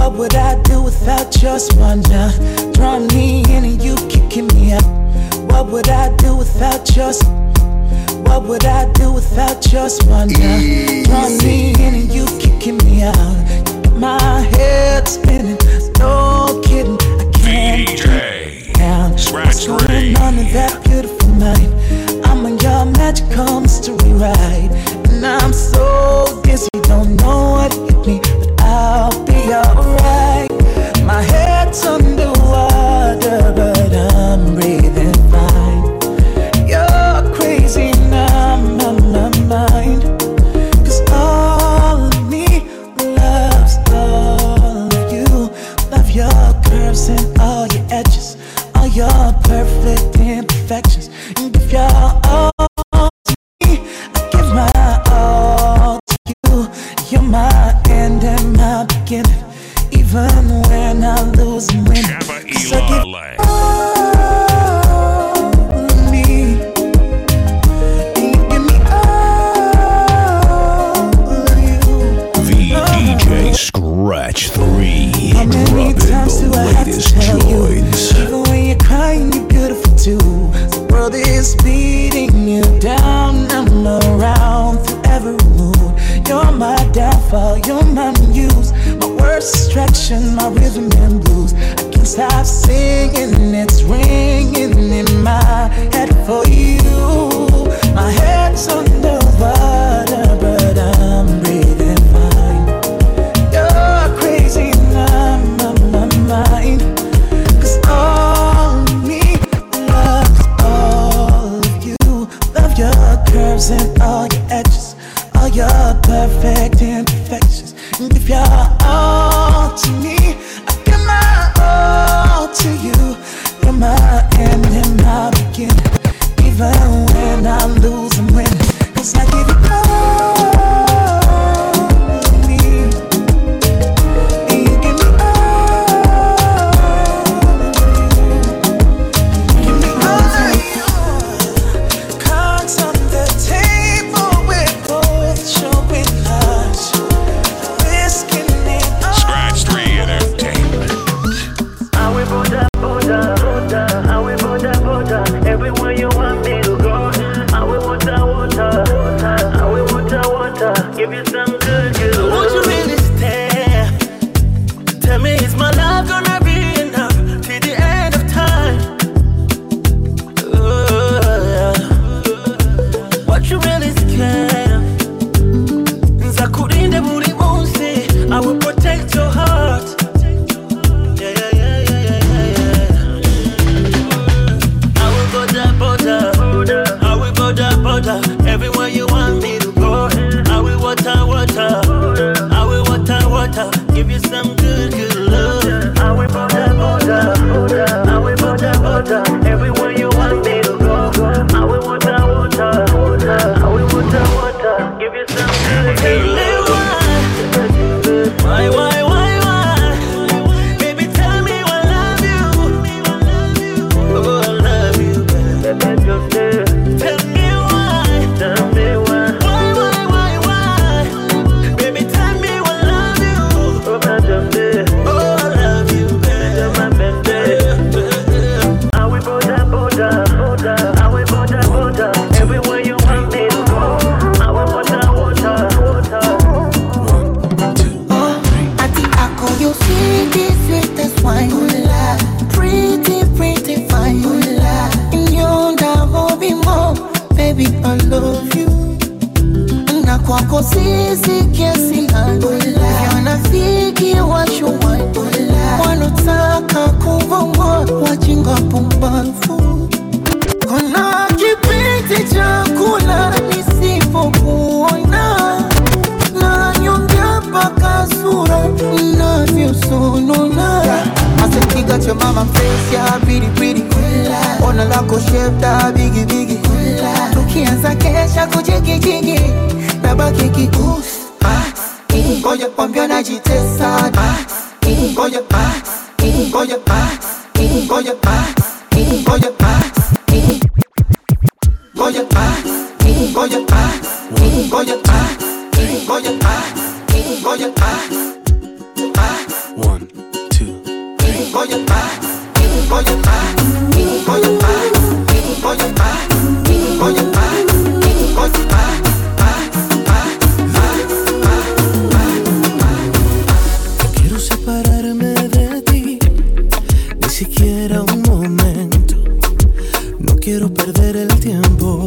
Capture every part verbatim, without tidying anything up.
What would I do without your smile now? Drawing me in and you kicking me out. What would I do without your smile? What would I do without your smile now? Drawing me in and you kicking me out. My head spinning, no kidding. I can't D J down. Scratch What's going on in that beautiful mind? I'm on your magical mystery ride, and I'm so dizzy, don't know what hit me, but I'll be alright. My head's underwater, but I'm breathing fine. You're crazy now, my, my mind. Cause all of me loves all of you. Love your curves and all your edges, all your perfect imperfections. And if you're all to me, I give my all to you. You're my end and my beginning, even when I lose and win. So give all of me, and you give me all of you. V D J Scratch three. How many times do I have to tell you? Even when you're crying, you're beautiful too. The world is beating you down. I'm around through every mood. You're my downfall, you're my muse, my worst distraction, my rhythm and blues. I can't stop singing, it's ringing in my head for you. My head's underwater, but I'm breathing fine. You're crazy now, my, my mind. Cause all of me loves all of you. Love your curves and all your edges, all your perfect imperfections. And if you're all to me, I give my all to you. You're my end and my beginning, even when I lose and win. Cause I give you all of me, and you give me all of you. Give me all of you. Cards on the table, we're both showing us, risking it all. Scratch three Entertainment. I will border, border, border. I will border, border. Everywhere you want me to go. I will water, water. I will water, water. Give you some good, good. Won't you really stay? Tell me, is my love gonna be enough till the end of time? Uh, what you really scared of? Nzakurinda buri munsi. I will protect your heart. Yeah, yeah, yeah, yeah, yeah, yeah, yeah. I will border, border. I will border, border. Everywhere you want me to go. I will water, water. I will water, water. Give you some good, good love. I will border, border. I will border, border. Everywhere you want me to go. I will water, water. I will water, water. Give you some good, good love. Why, why, why, why? Baby, tell me I love you. Oh, I love you, baby. Tell me why. Tell me why. Why, why, why, why? Baby, tell me I love you. Oh, I love you. Oh, I love you, baby. I will border, border, border. I will border, border. Everywhere you want me to go. I will water, water, water. You see this sweetest wine, pretty, pretty fine. You never be more, baby, I love you. Na kwako sisi kiasi gani, yanafiki what you want. Wanataka kuvongwa, wajinga pumbavu. Kuna kipindi cha kula nisipokuona, na nyongea mpaka sura inavyosonona. Asikiga cha mama face ya pretty pretty, ona lako shape da bigi bigi. Tukianza kesha kujigi jigi, nabaki kikus. Ngoja kwambia najitesa, ngoja ngoja ngoja ngoja Goya ah, Goya ah, Goya ah, Goya ah, Goya ah, ah. One. Quiero separarme de ti, ni siquiera un momento. No quiero perder el tiempo.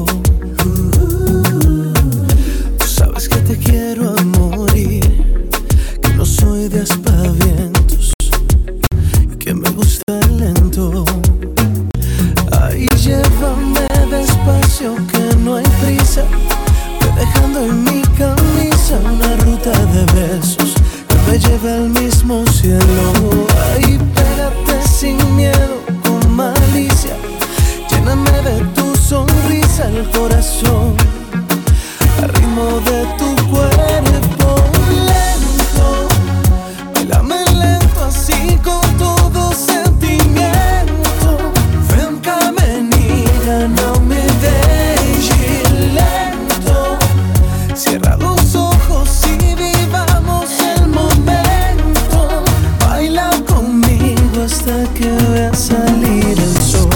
Tú sabes que te quiero a morir, que no soy de aspavientos y que me gusta lento. Ay, llévame despacio, que no hay prisa. Ve dejando en mi camisa una ruta de besos que me lleve al mismo cielo. Ay, pégate sin miedo, con malicia. Lléname de tu sonrisa el corazón, al ritmo de tu cuerpo lento. Bailame lento, así con todo sentimiento. Ven, menina, no me dejes lento. Cierra los ojos y vivamos el momento. Baila conmigo hasta que vea salir el sol.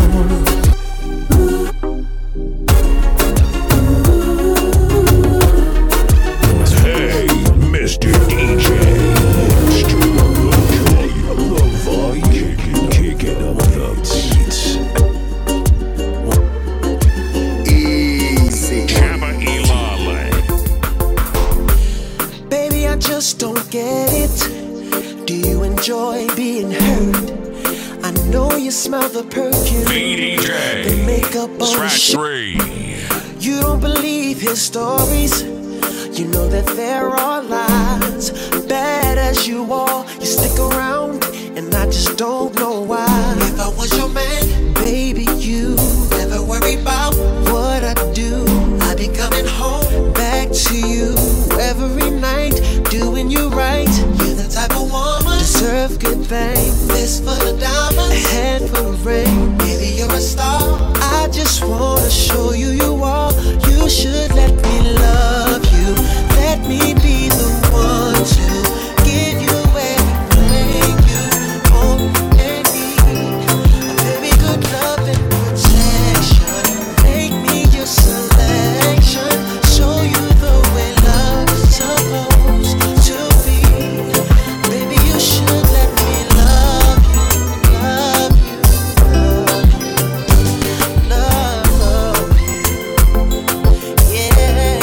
Don't get it. Do you enjoy being hurt? I know you smell the perfume, D J, the makeup on Scratch the three. You don't believe his stories. You know that there are lies. Bad as you are, you stick around, and I just don't know why. If I was your man, baby, you never worry about what I do. I be coming home back to you every night, doing you right. You're the type of woman deserve good things. This for the diamonds, a hand for the ring. Baby, you're a star. I just wanna show you you are. You should let me love you. Let me be the one to give you everything you want and need. A very good love and protection. Make me your selection. Show you the way love is supposed to be. Baby, you should let me love you, love you, love you, love, love you. Yeah.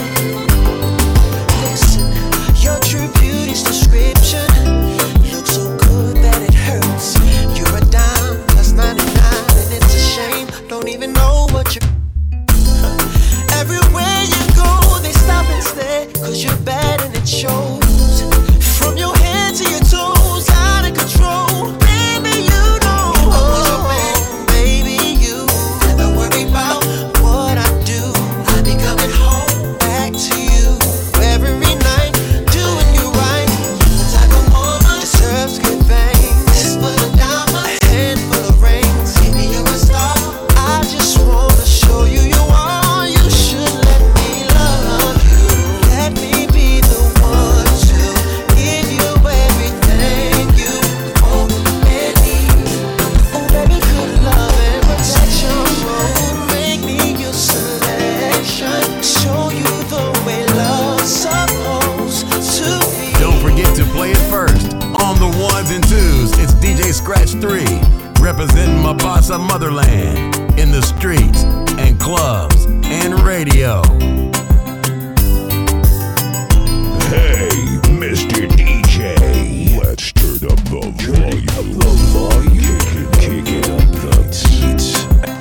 Listen, your true beauty's description looks so good that it hurts. You're a dime plus ninety-nine, and it's a shame. Don't even know what you're. Everywhere you go, they stop and stare, cause you're bad and it shows. From your head to your toes, out of control. Baby, you know. Oh, baby, you never worry about what I do. I be coming home back to you every night, doing you right. You're the type of woman deserves good things. This for the diamond, a handful of rings. Baby, you're a star. I just wanna show you you are. You should let me love you. Let me be the one to give you everything you want and need. Oh, baby, good love and protection. Oh, make me your selection. Show you the way love's supposed to be. Don't forget to play it first. On the ones and twos, it's D J Scratch three, representing Mombasa motherland in the streets and clubs and radio. Hey, Mister D J, let's turn up the volume. The volume. Kick it up the beats.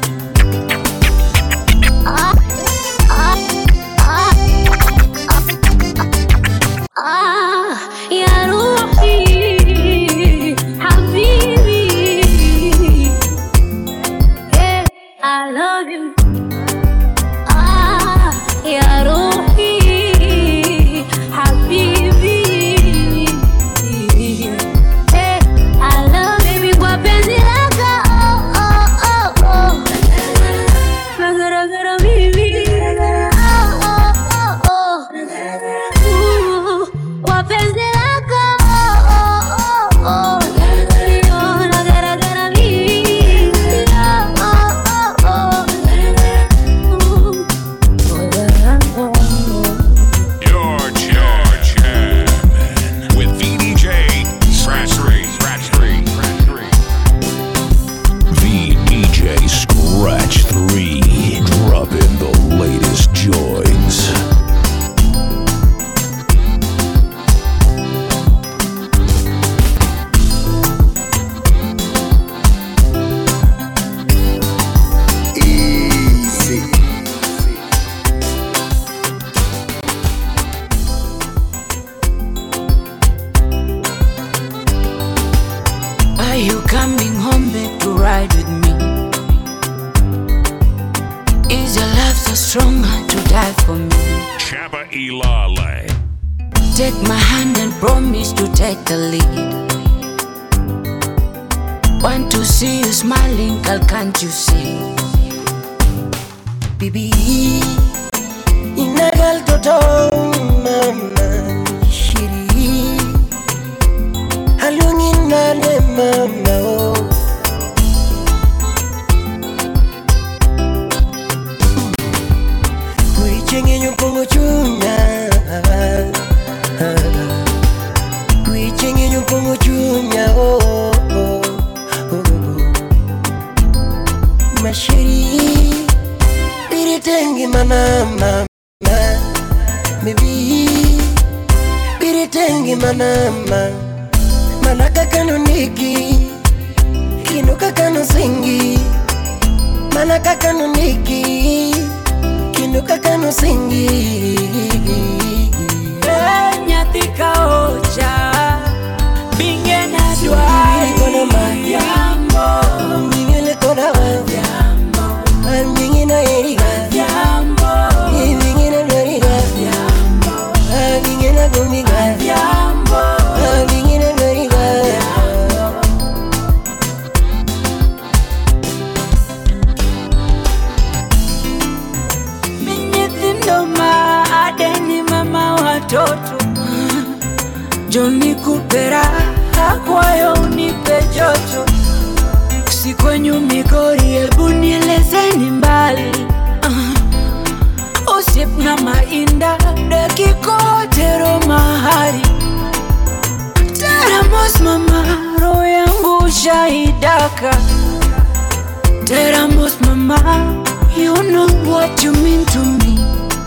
يا روحي حبيبي yeah, I love you ah, يا coming home babe to ride with me? Is your love so strong to die for me? Chaba Ilale. Take my hand and promise to take the lead. Want to see you smiling, girl, can't you see? Bibi, inagal toto mama shiri, halungin nale mama oh. Kuichenye nyupongo chunya, kuichenye nyupongo chunya oh oh oh oh. Mashiri biritengi mana mama, maybe biritengi mana mama, manaka kanuniki, kinuka kanusingi, manaka kanuniki, kinuka kanusingi. Nyatika ocha, bingena dwa, Bingena mayambo, bingena kona yambo, bingena eriga, yambo, bingena loriga, yambo, bingena gumiga, yambo, bingena loriga. Minyithindoma adeni mama watoto, Joni kupera akwayo unipe joto. Sikwenyu migori ebu nielezeni mbali, uh, Usip na mainda dekikotero mahari. Teramos mama roho yangu shahidaka. Teramos mama, you know what you mean to me.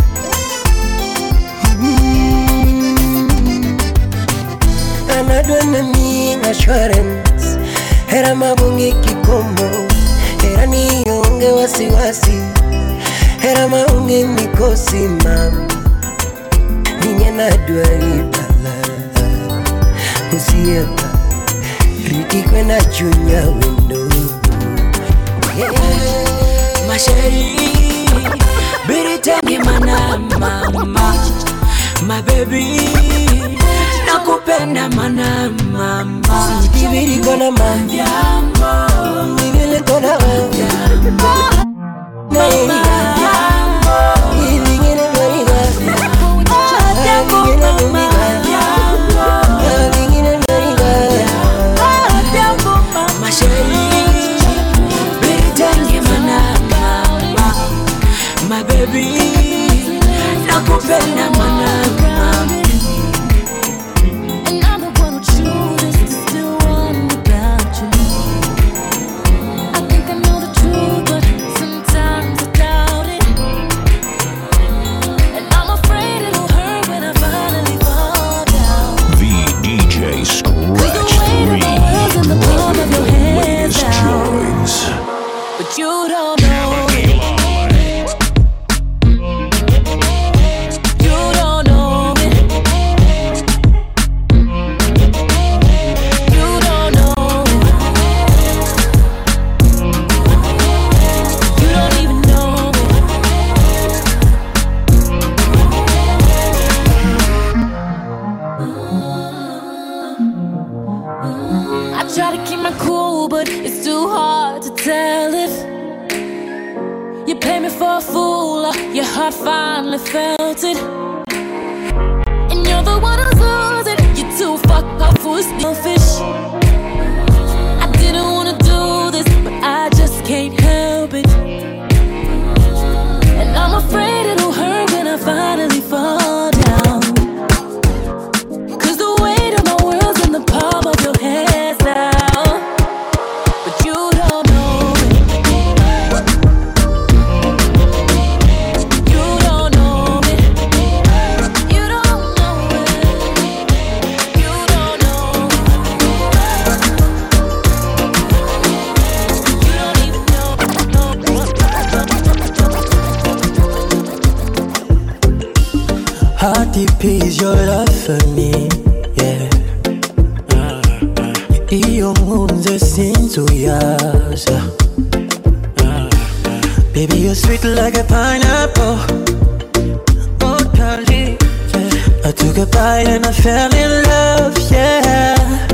Anadwana mi assurance, hera mabungi kikomo, hera nionge wasiwasi, hera maungi mikosi mama, ninye nadwari pala, usiyepa, riti kwena chunya window. Yeah. Masheri, biritengi mana mama, my baby, nakupenda mana mama. Kibiri kona mama, Yambo, nivile kona mama, yambo, naiga, ivingine loriga, ivingine gumiga, ivingine loriga. Masheri, biritengi mana mama, my baby, nakupenda mana mama. And I'm the one who chooses to still want without you. I think I know the truth, but sometimes I doubt it. And I'm afraid it'll hurt when I finally fall down. The D J Scratch The weight of the world's in the palm of your hands latest now. joints. But you don't know it. You don't know it. You don't know it. You don't even know it. I try to keep my cool, but it's too hard to tell it. You play me for a fool, uh, your heart finally felt it. And you're the one who's losing. You're too fucked up for selfish. I didn't wanna do this, but I just can't help it. And I'm afraid it'll hurt when I finally fall down. Cause the weight of my world's in the palm of your hands now. But you don't know it. You don't know it. You don't know it. ones that seem to yours. Uh, baby, you're sweet like a pineapple. Oh, darling, yeah. I took a bite and I fell in love, yeah.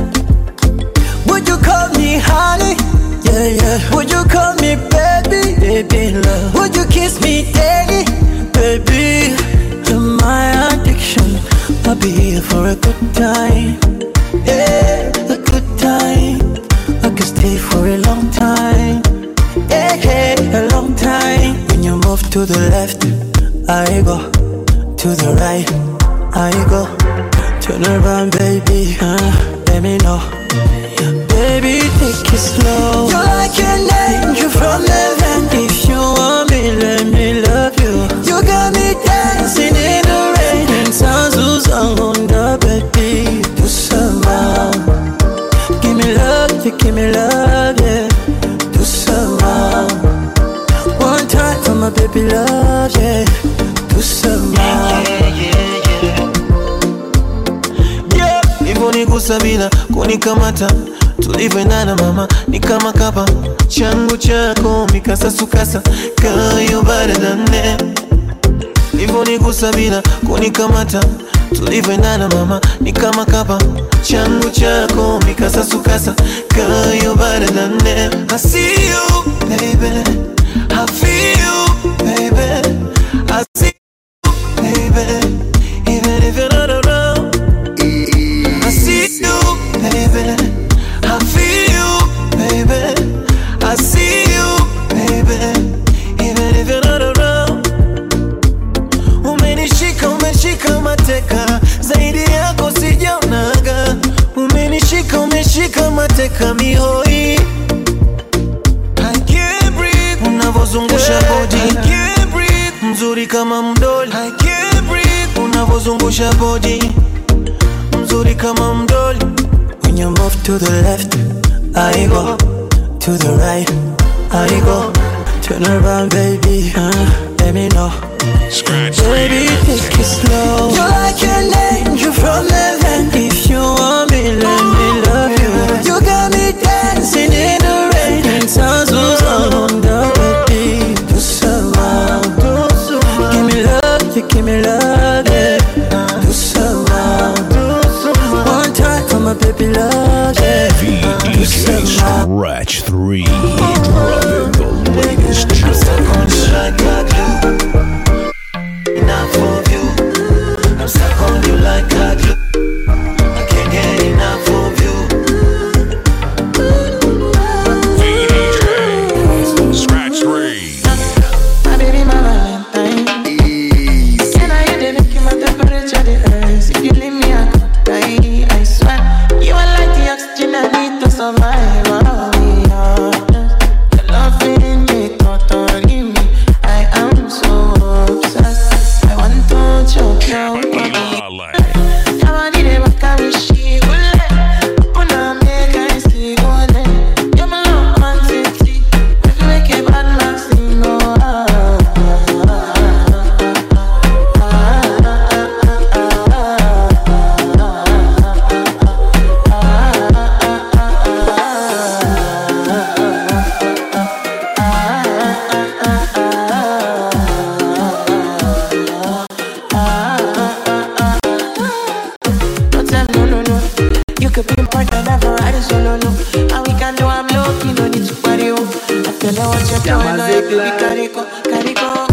Would you call me honey? Yeah, yeah. Would you call me baby? Baby, love. Would you kiss me daily? Baby, you're my addiction. I'll be here for a good time. Yeah, a good time. I could stay for a long time. Yeah, yeah, a long time. When you move to the left, I go. To the right, I go. Turn around, baby, uh, let me know. Baby, take it slow. You're like an angel from heaven. If you want me, let me love you. You got me dancing in the rain. And sounds who's on the baby. Do some more. Give me love, you give me love, yeah. Do some more. One time for my baby love, yeah. Do some more. Yeah, yeah, yeah, yeah. Hivyo nigusa bila kunikamata, tulivyoendana mama ni kama kapa. Changu chako mikasa sukasa, kayo baradane. Hivyo nigusa bila kunikamata, tulivyoendana mama ni kama kapa. Changu chako mikasa sukasa, kayo baradane. I see you, baby, I feel you, baby, I see you, baby, even if you're not around. I see you, baby, I feel you, baby, I see you, baby, even if you're not around. Umenishika, umeshika mateka, zaidi yako sijaonaga. Umenishika, umeshika mateka mihoi. I can't breathe, unavozungusha body. I can't breathe, mzuri kama mdoli. I can't breathe, unavozungusha body. Mzuri kama mdoli. When you move to the left, I go. To the right, I go. Turn around, baby, uh, let me know. Scratch baby, take it slow. You're like an angel from heaven. If you want me, let me love you. You got me dancing in the rain. And sounds who's on the baby. Do some more. Give me love, you give me love, yeah. Do some more. One time for my baby love, yeah. D J Scratch three, dropping the latest joints. Like I do, enough of you. I'm stuck on you like I do. I can't get enough of you. D J Scratch three. My baby, my Valentine. Can I hear the making my temperature the rise? If you leave me, I could die. I swear, you are like the oxygen I need to survive. Oh, yeah. Your loving me, totally me. I am so obsessed. I want to choke you. I want it ever carry she will. Open up, make I see golden. You're my love, man, city. If you make a bad man sing, oh, ah, ah, don't tell no, no, no. You could be more than ever, I just don't know. And we can do, I'm lucky, no need to party, oh. I tell you what you're doing, I baby, carry go, carry go.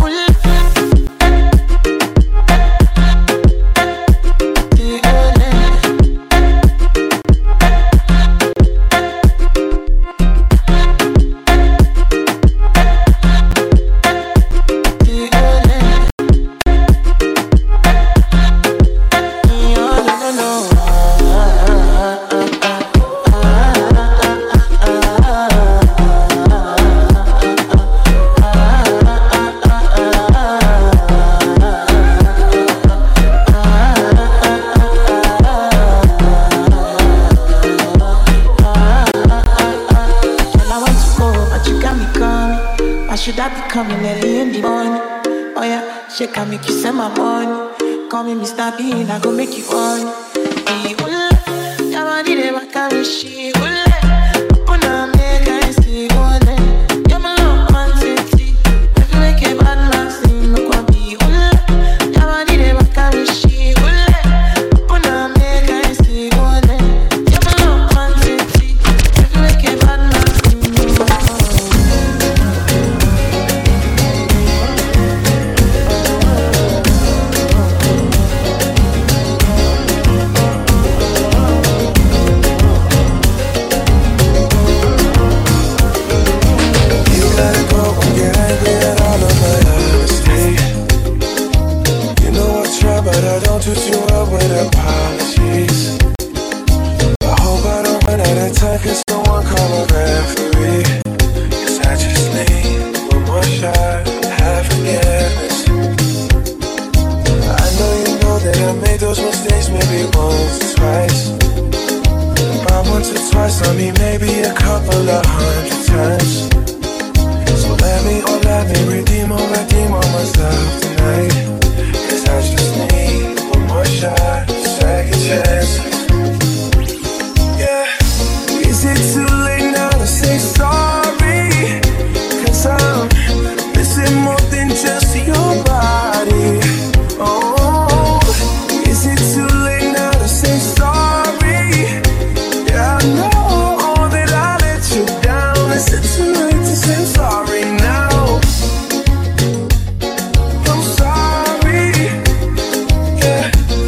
Should I be coming early in the morning? Oh yeah, she can make you send my money. Call me Mister Bean, I go make you on. Hey, ula, your body never carry she ula. I mean, maybe a couple of hundred times. So let me, oh let me redeem, oh redeem on myself tonight. Cause I just need one more shot, second chance. Yeah. Is it too late now to say sorry? Cause I'm missing more than just your body. Oh, is it too late now to say sorry? Yeah, I know that I let you down. Is it too late to say sorry now? I'm sorry. Yeah.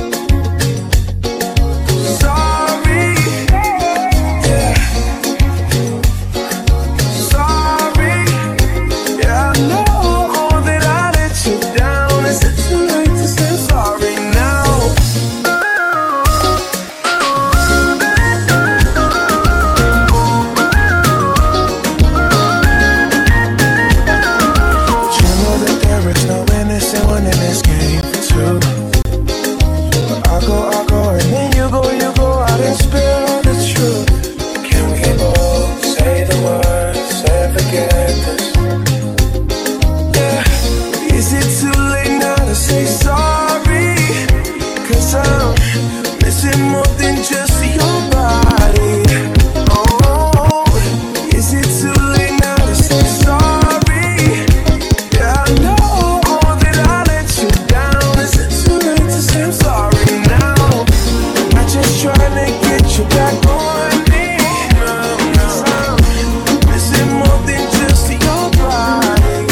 Sorry. Yeah. Sorry. Yeah, I know that I let you down. Is it too late to say sorry now? But you know that there is no innocent one in this game too. But I go, I go, and then you go, you go out and spill all the truth. Can we both say the words and forget this? Yeah. Is it too late now to say sorry? Cause I'm missing more than just your body. Oh, is it too late now to say sorry? Yeah, I know that I let you down. Is it too late to say I'm sorry now? I'm just trying to get you back on me. Cause I'm missing more than just your body.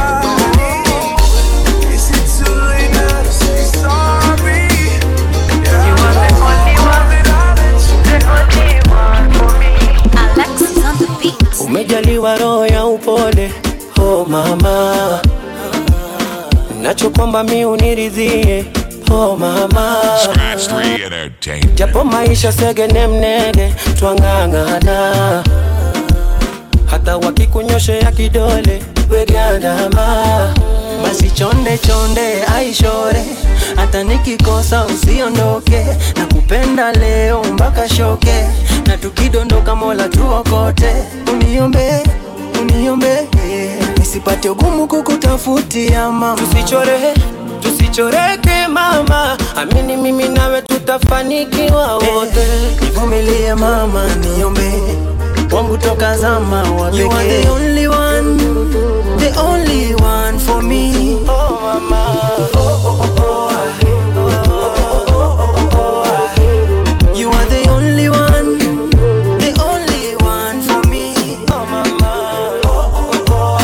Is it too late now to say sorry? Yeah, you are the only one that I let you down. The only one for me. Alexis on the beat. Umejaliwa roho ya upole, oh mama. Nachokwamba mi uniridhie, oh mama. Scratch three Entertainment. Japo maisha segene mnege, twang'ang'ana. Hata wakikunyoshe ya kidole, wegandama. Basi chonde chonde, aishore. Hata nikikosa usiondoke. Nakupenda leo mpaka shoke. Na tukidondoka Mola tuokote. Uniombe, uniombe, nisipate ugumu kukutafutia mama. Tusichore, tusichoreke mama. Amini mimi nawe tutafanikiwa wote. Nivumilie mama, niombe wangu toka zama wa pekee. You are the only one, the only one for me. Oh mama, oh oh oh oh. You are the only one, the only one for me. Oh mama, oh oh oh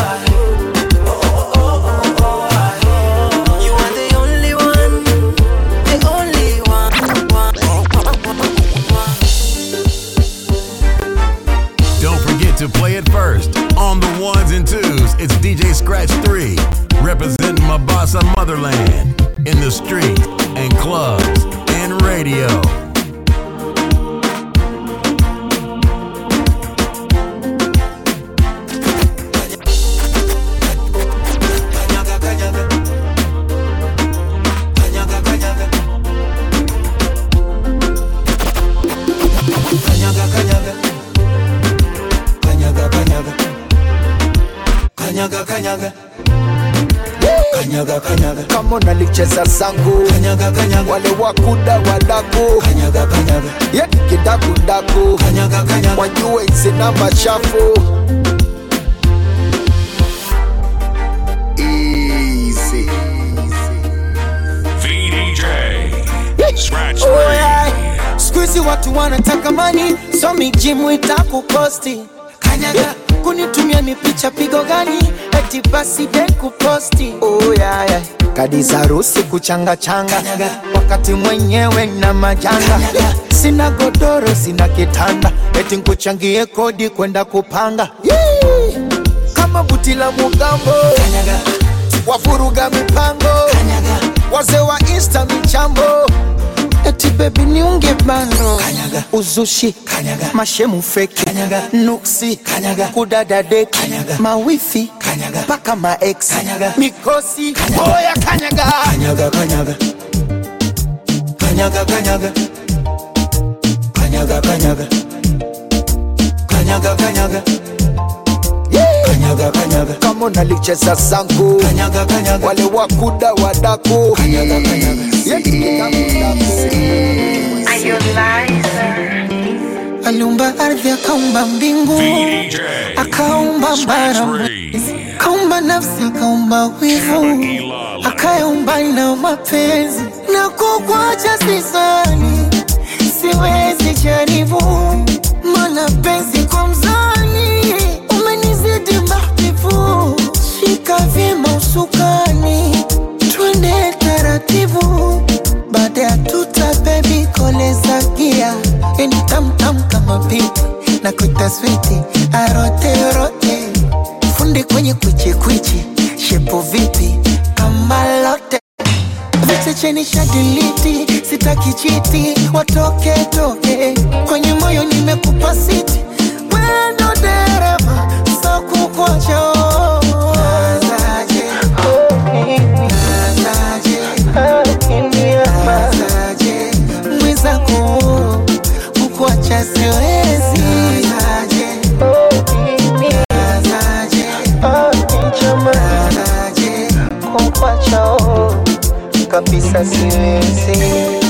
oh. You are the only one, the only one. Don't forget to play it first on the ones and twos. It's D J Scratch three, representing Mombasa motherland in the streets and clubs and radio. Kanyaga, kanyaga. Kanyaga, kanyaga. Kama unalicheza zangu. Kanyaga, kanyaga. Wale wakuda wadaku. Kanyaga, kanyaga. Yeki kidaku daku. Kanyaga, kanyaga. Wajue hizi namba chafu. Easy. V D J Scratch Oh, three. yeah. Squeezy watu wanataka mani, so mijimu itakuposti. Kanyaga. Kunitumia ni picha pigo gani, eti basi de kuposti. Oh yeah, yeah. Kadi za rusi kuchanga changa. Kanyaga. Wakati mwenyewe na majanga. Kanyaga. Sina godoro, sina kitanda, eti nkuchangie kodi kwenda kupanga. Yee. Kama buti la mugambo. Kanyaga. Wafuruga mipango. Kanyaga. Wazee wa Insta michambo. Eti baby niunge bando. Kanyaga. Uzushi. Kanyaga. Mashemu fake. Kanyaga. Nuksi. Kanyaga. Kudada deki. Kanyaga. Mawifi. Kanyaga. Paka ma ex. Kanyaga. Mikosi. Kanyaga. Oya kanyaga. Kanyaga kanyaga. Kanyaga kanyaga. Kanyaga kanyaga. piano nalicheza sangu. Kanyaga kanyaga, wale wakuda wadako. Kanyaga kanyaga, aliumba ardhi, akaumba mbingu, akaumba bara, akaumba nafsi, akaumba wivu, akaumba na mapenzi. Na kukuacha sisani, siwezi jaribu, mana penzi kwa mzani umenizidi mahbibu. Shika vyema usukani, twende taratibu, baada ya tuta baby koleza gia. Eni tam tam kama pipi, na kuita switi arote rote, fundi kwenye kwichi kwichi, shepo vipi kama lote. Viche cheni shadiliti, sitaki chiti, watoke toke, kwenye moyo nimekupa siti. Wendo dereva, so kukuacha. Nazaje, nazaje, nazaje, mwizako kukuacha siwezi. Nazaje, nazaje, nazaje, kukuacha kabisa siwezi.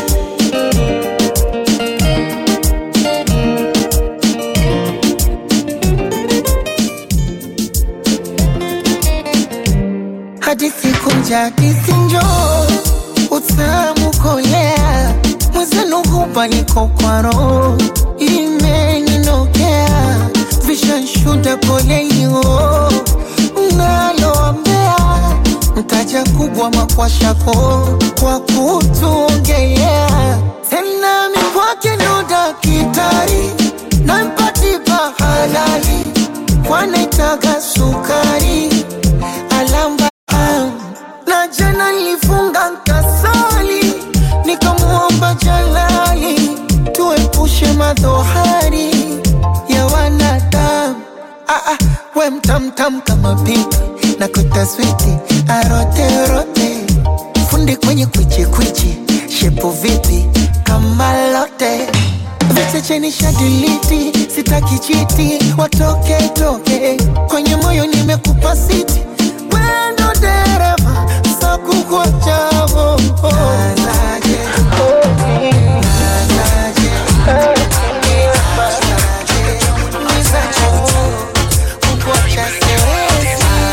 Hadithi kunja, hadithi njoo, utamu kolea, mwezenu hupa niko kwa roho, imeninokea, vishanshuda pole hiyo, unaloambea, mtaja kubwa makwashako, kwa kutuongea, tena mikwake nuda kitari, na mpatipa halali, kwa naitaga sukari, alamba. Na jana nilifunga nkasali, nikamuomba Jalali, tuepushe madhohari ya wanadamu. Ah ah, we mtamtam kama pipi, na kuita switi arote rote, fundi kwenye kwichi kwichi, shepo vipi kama lote. Viche cheni shadiliti, sitaki chiti, watoke toke, kwenye moyo nimekupa siti. Wendo dereva, so kukuacha. Nazaje, nazaje, nazaje, mwizako kukuacha siwezi.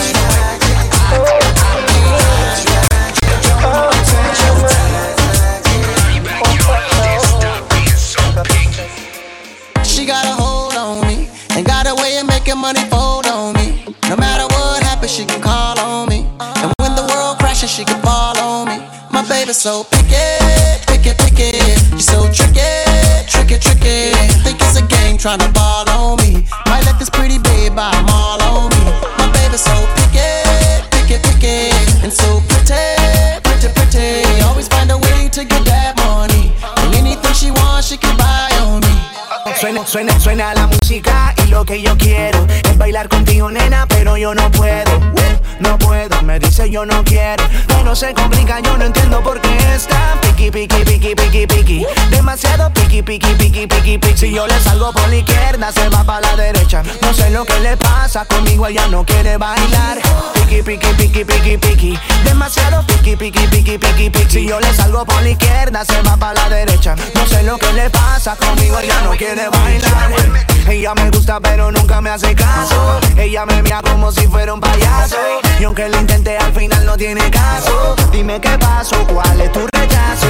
She got a hold on me, and got a way of making money fold on me. No matter what happens, she can call on me, and when the world crashes, she can fall on me. My baby's so picky, picky, picky. She's so tricky, tricky, tricky. Think it's a game trying to ball on me. Might let this pretty babe buy them all on me. My baby's so picky, picky, picky, and so pretty, pretty, pretty. Always find a way to get that money, and anything she wants, she can buy on me. Suena, suena, suena la música y lo que yo quiero es bailar contigo, nena, pero yo no puedo, no puedo, me dice yo no quiero, pero se complica, yo no entiendo por qué está piqui, piqui, piqui, piqui, piqui, demasiado piqui, piqui, piqui, piqui, piqui. Si yo le salgo por la izquierda, se va para la derecha, no sé lo que le pasa, conmigo ella no quiere bailar. Piqui, piqui, piqui, piqui, piqui, demasiado piqui, piqui, piqui, piqui, piqui. Si yo le salgo por la izquierda, se va para la derecha, no sé lo que le pasa, conmigo ella no quiere bailar. Ella me gusta pero nunca me hace caso, ella me mira como si fuera un payaso, y aunque lo intenté al final no tiene caso. Dime qué pasó, cuál es tu rechazo,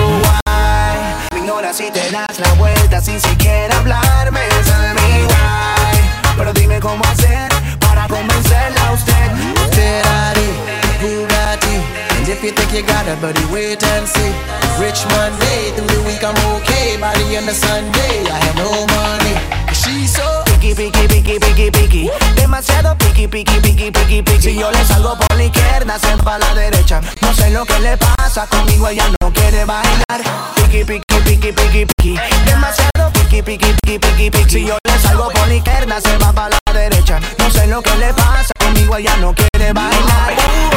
why me ignoras y te das la vuelta sin siquiera hablarme, tell me why. Pero dime cómo hacer para convencerla a usted. Ferrari, Bugatti, and if you think you got it, buddy, wait and see. Rich Monday, through the week I'm okay, by the end of Sunday I have no money. She's so piqui, piqui, piqui, piqui, piqui, demasiado piqui, piqui, piqui, piqui, piqui. Si yo le salgo por la izquierda, se va para la derecha, no sé lo que le pasa, conmigo ella no quiere bailar. Piqui, piqui, piqui, piqui, piqui, demasiado piqui, piqui, piqui, piqui, piqui. Si yo le salgo por la izquierda, se va para la derecha, no sé lo que le pasa, conmigo ella no quiere bailar.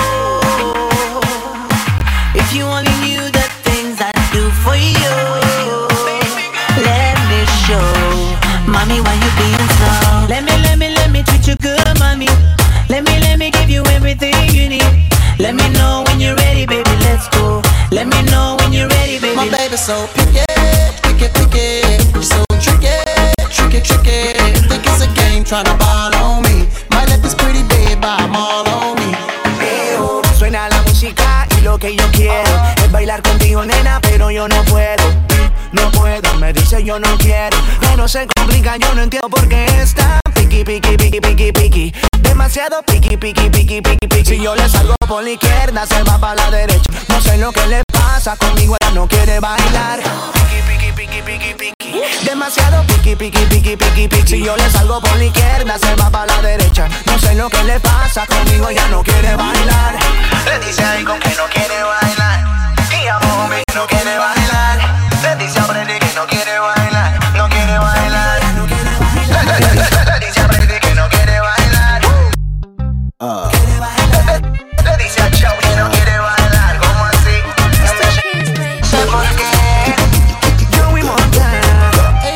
If you only knew the things I do for you, let me show. Mommy, why you being so? Let me, let me, let me treat you good, mommy. Let me, let me give you everything you need. Let me know when you're ready, baby, let's go. Let me know when you're ready, baby. My baby's so picky, picky, picky. So tricky, tricky, tricky. Think it's a game tryna ball on me. My lip is pretty big, but I'm all on me. Eo, suena la música y lo que yo quiero es bailar contigo, nena, pero yo no puedo. No puedo, me dice yo no quiero. Pero se complica, yo no entiendo por qué está piqui, piqui, piqui, piqui, piqui. Demasiado piqui, piqui, piqui, piqui, piqui. Si yo le salgo por la izquierda, se va para la derecha. No sé lo que le pasa, conmigo ella no quiere bailar. Piqui, piqui, piqui, piqui, piqui. Demasiado piqui, piqui, piqui, piqui, piqui. Si yo le salgo por la izquierda, se va para la derecha. No sé lo que le pasa, conmigo ella no quiere bailar. Le dice ahí con que no quiere bailar. Y a mí no quiere bailar. Le dice a Freddy que no quiere bailar. No quiere bailar. No quiere bailar. Le dice a Freddy que no quiere bailar. Uh. Le dice a Chau que no quiere bailar. ¿Cómo así? ¿Por qué? Joey Montana.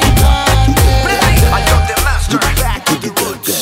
I got the master back to the roots.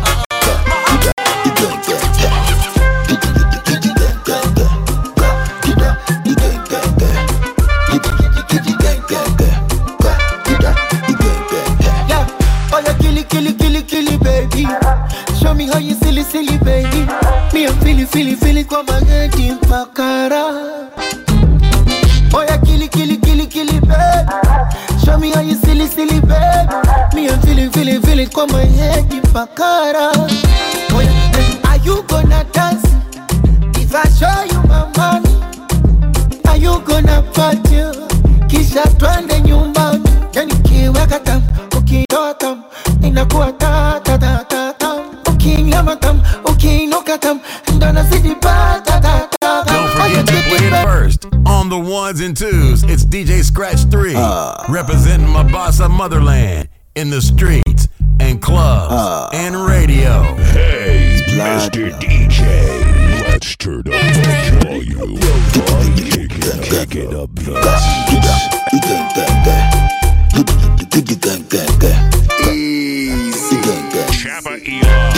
Show me how you silly, silly, baby. Me, I'm feeling, feeling, feeling kwa mageti mpakara. Oh, yeah, killy, killy, killy, killy, baby. Show me how you silly, silly, baby. Me, I'm feeling, feeling, feeling kwa mageti mpakara. Oh, yeah, are you gonna dance? If I show you my money, are you gonna party? Kisha twende nyumbani. Yani kiweka tam, ukitoa tam, inakuwa ta, ta, ta, ta, ta. Ukingamatam, ukinokatam, ndona zidi pa, ta, ta, ta. Don't forget to play it first. On the ones and twos, it's D J Scratch three, uh, representing my Mombasa motherland in the streets and clubs uh, and radio. Hey, Mister D J, let's turn up the volume. Kick it, kick it up, Easy. Chapa Elon.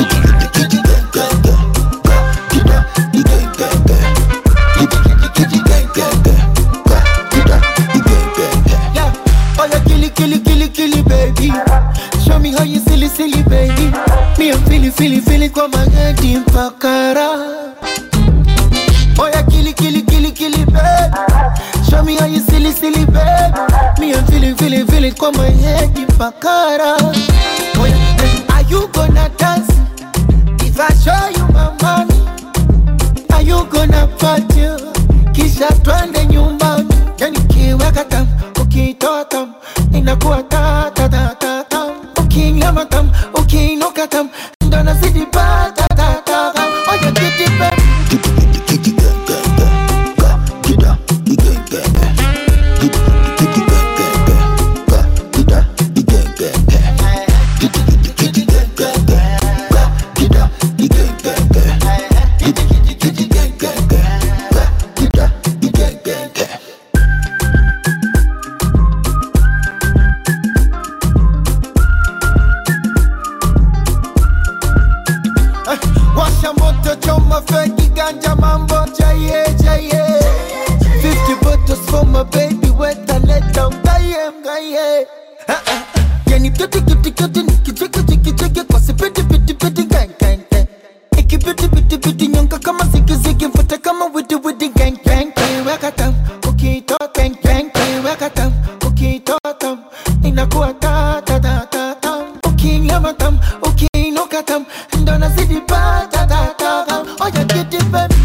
Yeah, oh yeah, killy, killy, killy, killy, baby. Show me how you silly, silly, baby. Me, I'm feeling, feeling, feeling kwa mageti mpakara. Oh yeah, killy, killy, killy, killy, baby. Show me how you silly, silly, baby. Me, I'm feeling, feeling, feeling kwa mageti mpakara. Oh yeah, are you gonna dance? If I show you my money, are you gonna party? Kisha twende nyumbani. Yani kiweka tam, ukitoa tam, inakuwa ta, ta, ta, ta, ta. Ukingama tam, ukinoka tam, ndona zidi pa, ta, ta, ta, ta. Oh yeah, get it back. Washa moto choma feki ganja mambo jaye jaye. Fifty bottles for my baby wet and let down gaye gaye. Yani piti piti piti niki chiki chiki chiki kwa si piti piti piti gang gang gang. Iki piti piti piti nyonga kama ziki ziki mfuta kama widi widi gang gang gang. Weka tam ukito gang gang gang. Weka tam ukito tam inakuwa ta ta ta ta ta. Ukinyama tam ukinoka tam ndona zidi pa ta ta ta ta. Oh yeah, get it baby.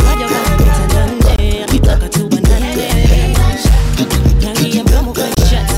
Shots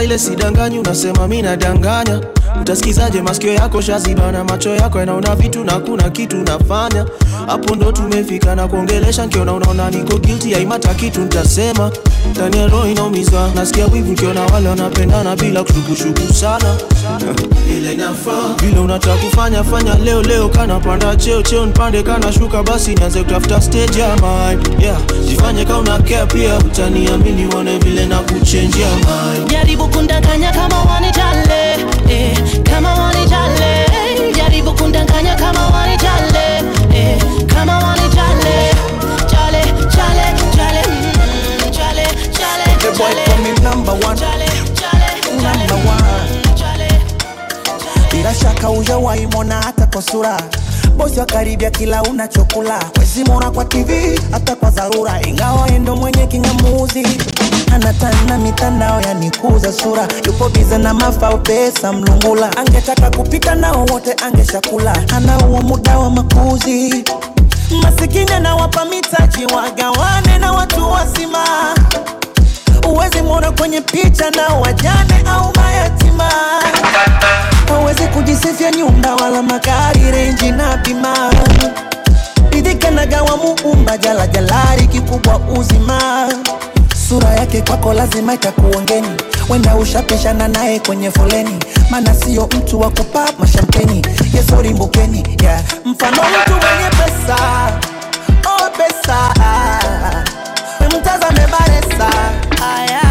vile sidanganyi unasema mimi nadanganya. Utasikizaje masikio yako shazibana, macho yako yanaona vitu na kuna kitu nafanya. Hapo ndo tumefika na kuongelesha nikiona unaona niko guilty, haimata kitu nitasema. Ndani ya roho inaumiza, nasikia wivu nikiona wale wanapendana bila kushukushuku sana. Ile inafaa vile unataka kufanya fanya leo leo, kana panda cheo cheo nipande kana shuka, basi nianze kutafuta stage ya mind. Yeah, jifanye kama una care pia utaniamini uone vile na kuchange ya mind. Jaribu kundanganya kama wanijale, eh, kama wanijale. Jaribu kundanganya kama wanijale, eh, kama wanijale. Chale, chale, chale, mm, chale, chale, the boy for me number one, chale, chale, number one. Bila shaka hujawahi mwona hata kwa sura, bosi wa karibia kila unachokula. Wezi mwona kwa T V hata kwa dharura, ingawa endo mwenye kingamuzi. Anatana mitandao ya nikuza sura, yupo bize na mafao pesa mlungula. Angetaka kupika nao wote angeshakula, ana huo muda wa makuzi. Masikini na wapa mitaji wagawane na watu wasima. Uwezi mwona kwenye picha na wajane au mayatima. Hawezi kujisifia nyumba wala magari, renji na bima. Bidhika na gawa muumba jala jalari kikubwa uzima. Sura yake kwako lazima itakuongeni, wenda ushapishana naye kwenye foleni. Mana siyo mtu wa kupap mashampeni, yesori mbukeni, yeah. Mfano mtu mwenye pesa, oh pesa, mtazame baresa, aya.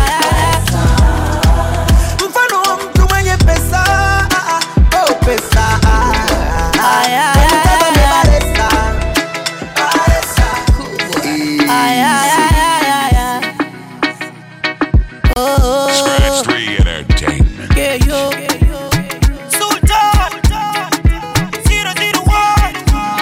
Mfano mtu mwenye pesa, oh pesa, aya. Mtazame baresa, baresa, aya. Scratch three Entertainment. Yeah, yo. Sultan zero zero one.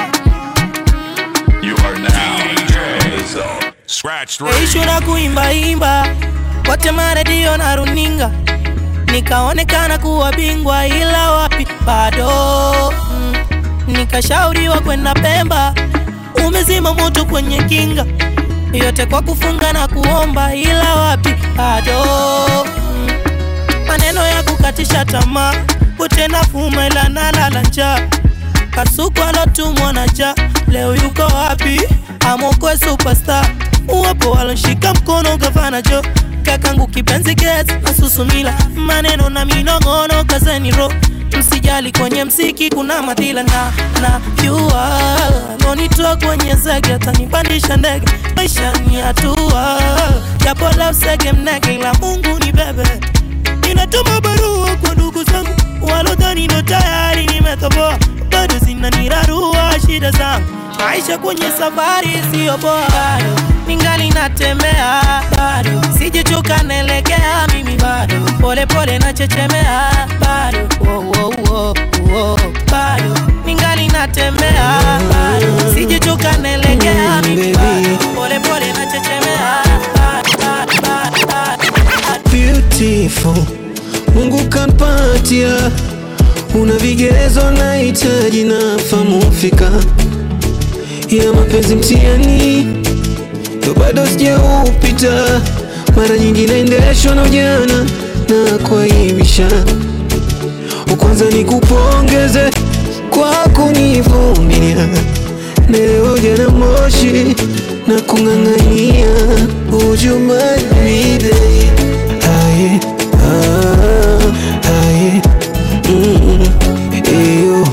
You are now D J Scratch three. Ishu na kuimba imba wote maredio na runinga, nikaonekana kuwa bingwa ila wapi bado. mm. Nikashauriwa kwenda Pemba, umezima moto kwenye kinga, yote kwa kufunga na kuomba ila wapi bado. mm. Maneno ya kukatisha tamaa, utenda fuma ila nalala njaa. Kasuku alotumwa na ja, leo yuko wapi? Amokwe superstar, uwapo walonshika mkono gavana Jo. Kakangu kipenzi gets na susumila, maneno na minongono kazeni ro. Msijali kwenye msiki kuna madhila na na yua. Monitoa kwenye zege atanipandisha ndege, maisha ni hatua. Japo leo sege mnege ila Mungu ni bebe. Ninatuma barua kwa ndugu zangu walodhani ndo tayari nimetoboa, bado zinanirarua shida zangu. Maisha kwenye safari sio poa, bado ningali natembea, bado sijachoka naelekea mimi, bado pole pole nachechemea, bado oh, oh, oh, oh. Bado ningali natembea, bado sijachoka naelekea mimi, bado pole pole nachechemea, bado, bado, bado, bado. Beautiful, Mungu kampatia, una vigezo na hitaji na famu fika. Ya mapenzi mtihani, ndo bado sijaupita. Mara nyingi naendeshwa na ujana na kuaibisha. Kwanza nikupongeze kwa kunivumilia, na leo jana moshi na kung'ang'ania. Would you mind me babe? Aye, ah, aye, mm, eyo,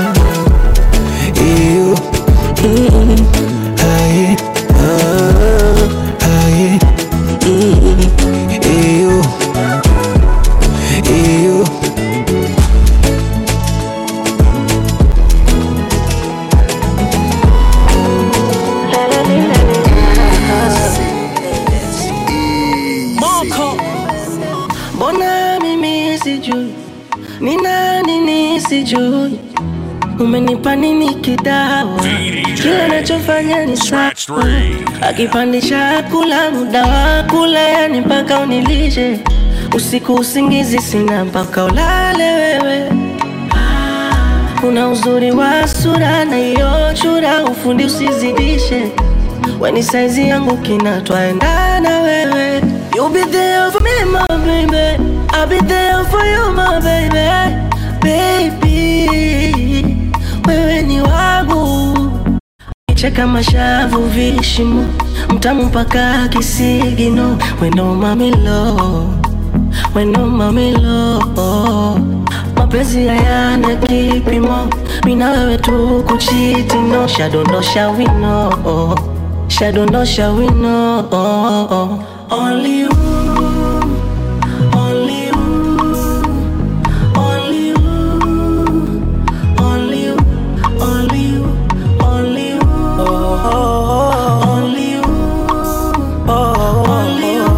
eyo, mm, aye, ah, aye, mm, eyo, eyo. Mbona mimi sijui ni nani nisijui, umenipa nini kidawa, kile nachofanya ni sawa. Akipandisha kula muda wa kula, yani mpaka unilishe. Usiku usingizi sina mpaka ulale wewe. Kuna uzuri wa sura na hiyo chura, ufundi usizidishe. Weni saizi yangu kina twaendana wewe. You'll be there for me my baby, I'll be there for you, my baby, baby. Wewe ni wangu. Cheka mashavu vishimo, mtamu mpaka kisigino. We know mami low, we know mami low. Mapenzi hayana kipimo, mina wewe tu kuchiti no. Shadondosha we know, shadondosha we know. Only you, only you, only you, only you, only you, only you, only you, only you,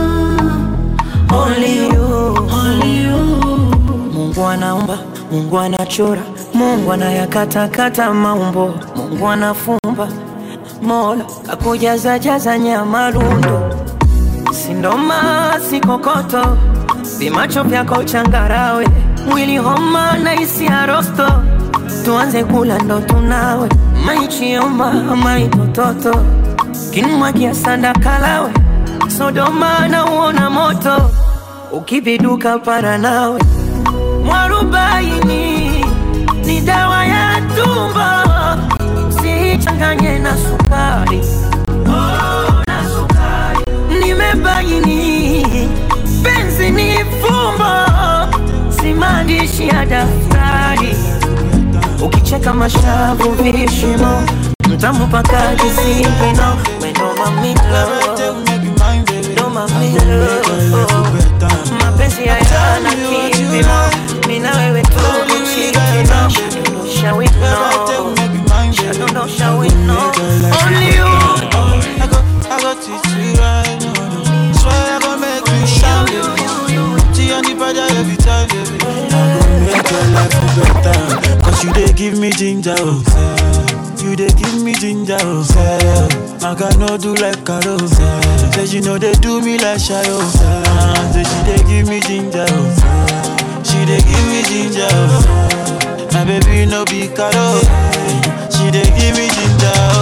only you, only you. Mungu anaumba, Mungu anachora, Mungu anayakata kata maumbo, Mungu anafumba, Mola kakujaza jaza nyama lundo. Sindoma si kokoto, vimacho vyako changarawe, mwili homa na isi arosto. Tuanze kula ndo tunawe, maichioma maitototo, kinumwagia sanda kalawe. Sodoma na uona moto, ukibiduka para nawe. Mwarubaini ni dawa ya tumbo, usichanganye na sukari. Oh, na sukari. Nimebaini penzi ni fumbo, si maandishi ya daftari. Ukicheka mashavu vishimo, mtamu paka kisigino. Wendo mamilo, ndo mamilo. Mapenzi hayana kipimo, mina wewe tu kuchikino. Shall we know, shall we know. Only you, I got, I got it right now. Swear I gon' make you shine, baby. See on the body every time, baby. I gon' make your life better. Cause you dey give me ginger, oh. You dey give me ginger, oh. I got no do like Carol. Say you know they do me like Shayo. Say she dey give me ginger, oh. She dey give me ginger, oh. My baby no be Carol. She dey give me ginger, oh.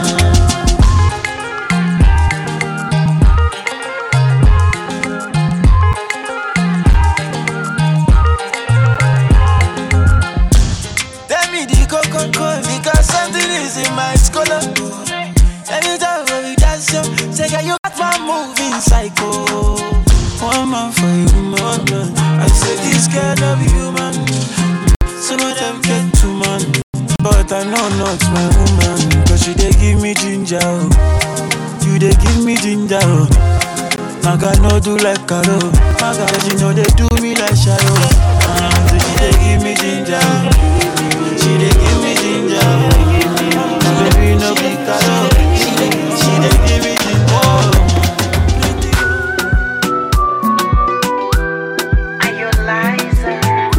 Because something is in my scholar. Anytime when we dance, yo, say, yeah, you got my moving psycho. One man for you, man. I say, this girl love you, man. Some of them get too man, but I know not my woman. Cause you they give me ginger, you they give me ginger. I got no do like Carol. My God, you know they do me like Shadow. Uh, so she they give me ginger. She dey give me ginger, baby no be Carol. She dey, she dey give me ginger. Are you Liza?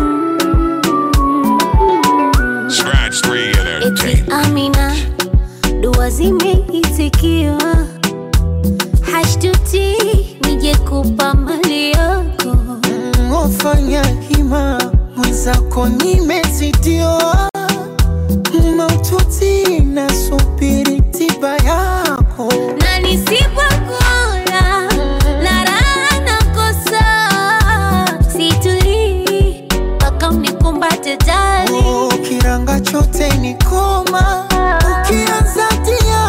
Scratch three entertainment. Amina, dua zimeitikiwa, hashtuti nije kupa mali yako. Ufanya hima mwenzako nimezidiwa, maututi nasubiri tiba yako. Na nisipokuona na raha nakosa, situli mpaka unikumbate ndani. Ukiranga chote ni koma, ukianza tia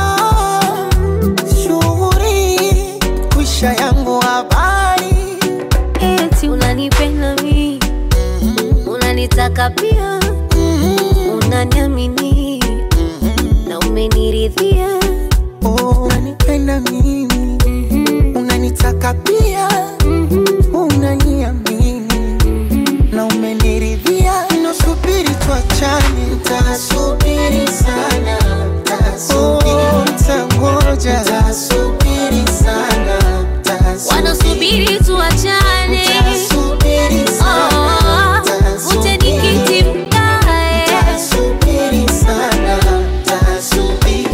shughuri kuisha yangu habari. Eti unanipenda mimi, unanitaka pia, unaniamini na umeniridhia. Oh, unanipenda mimi, unanitaka pia, unaniamini na umeniridhia. Nasubiri tuachane, nitasubiri sana, oh, nitangoja, nitasubiri sana, wanasubiri tuachane, nitasubiri sana, ute nikiti mkae, nitasubiri sana, nitasubiri.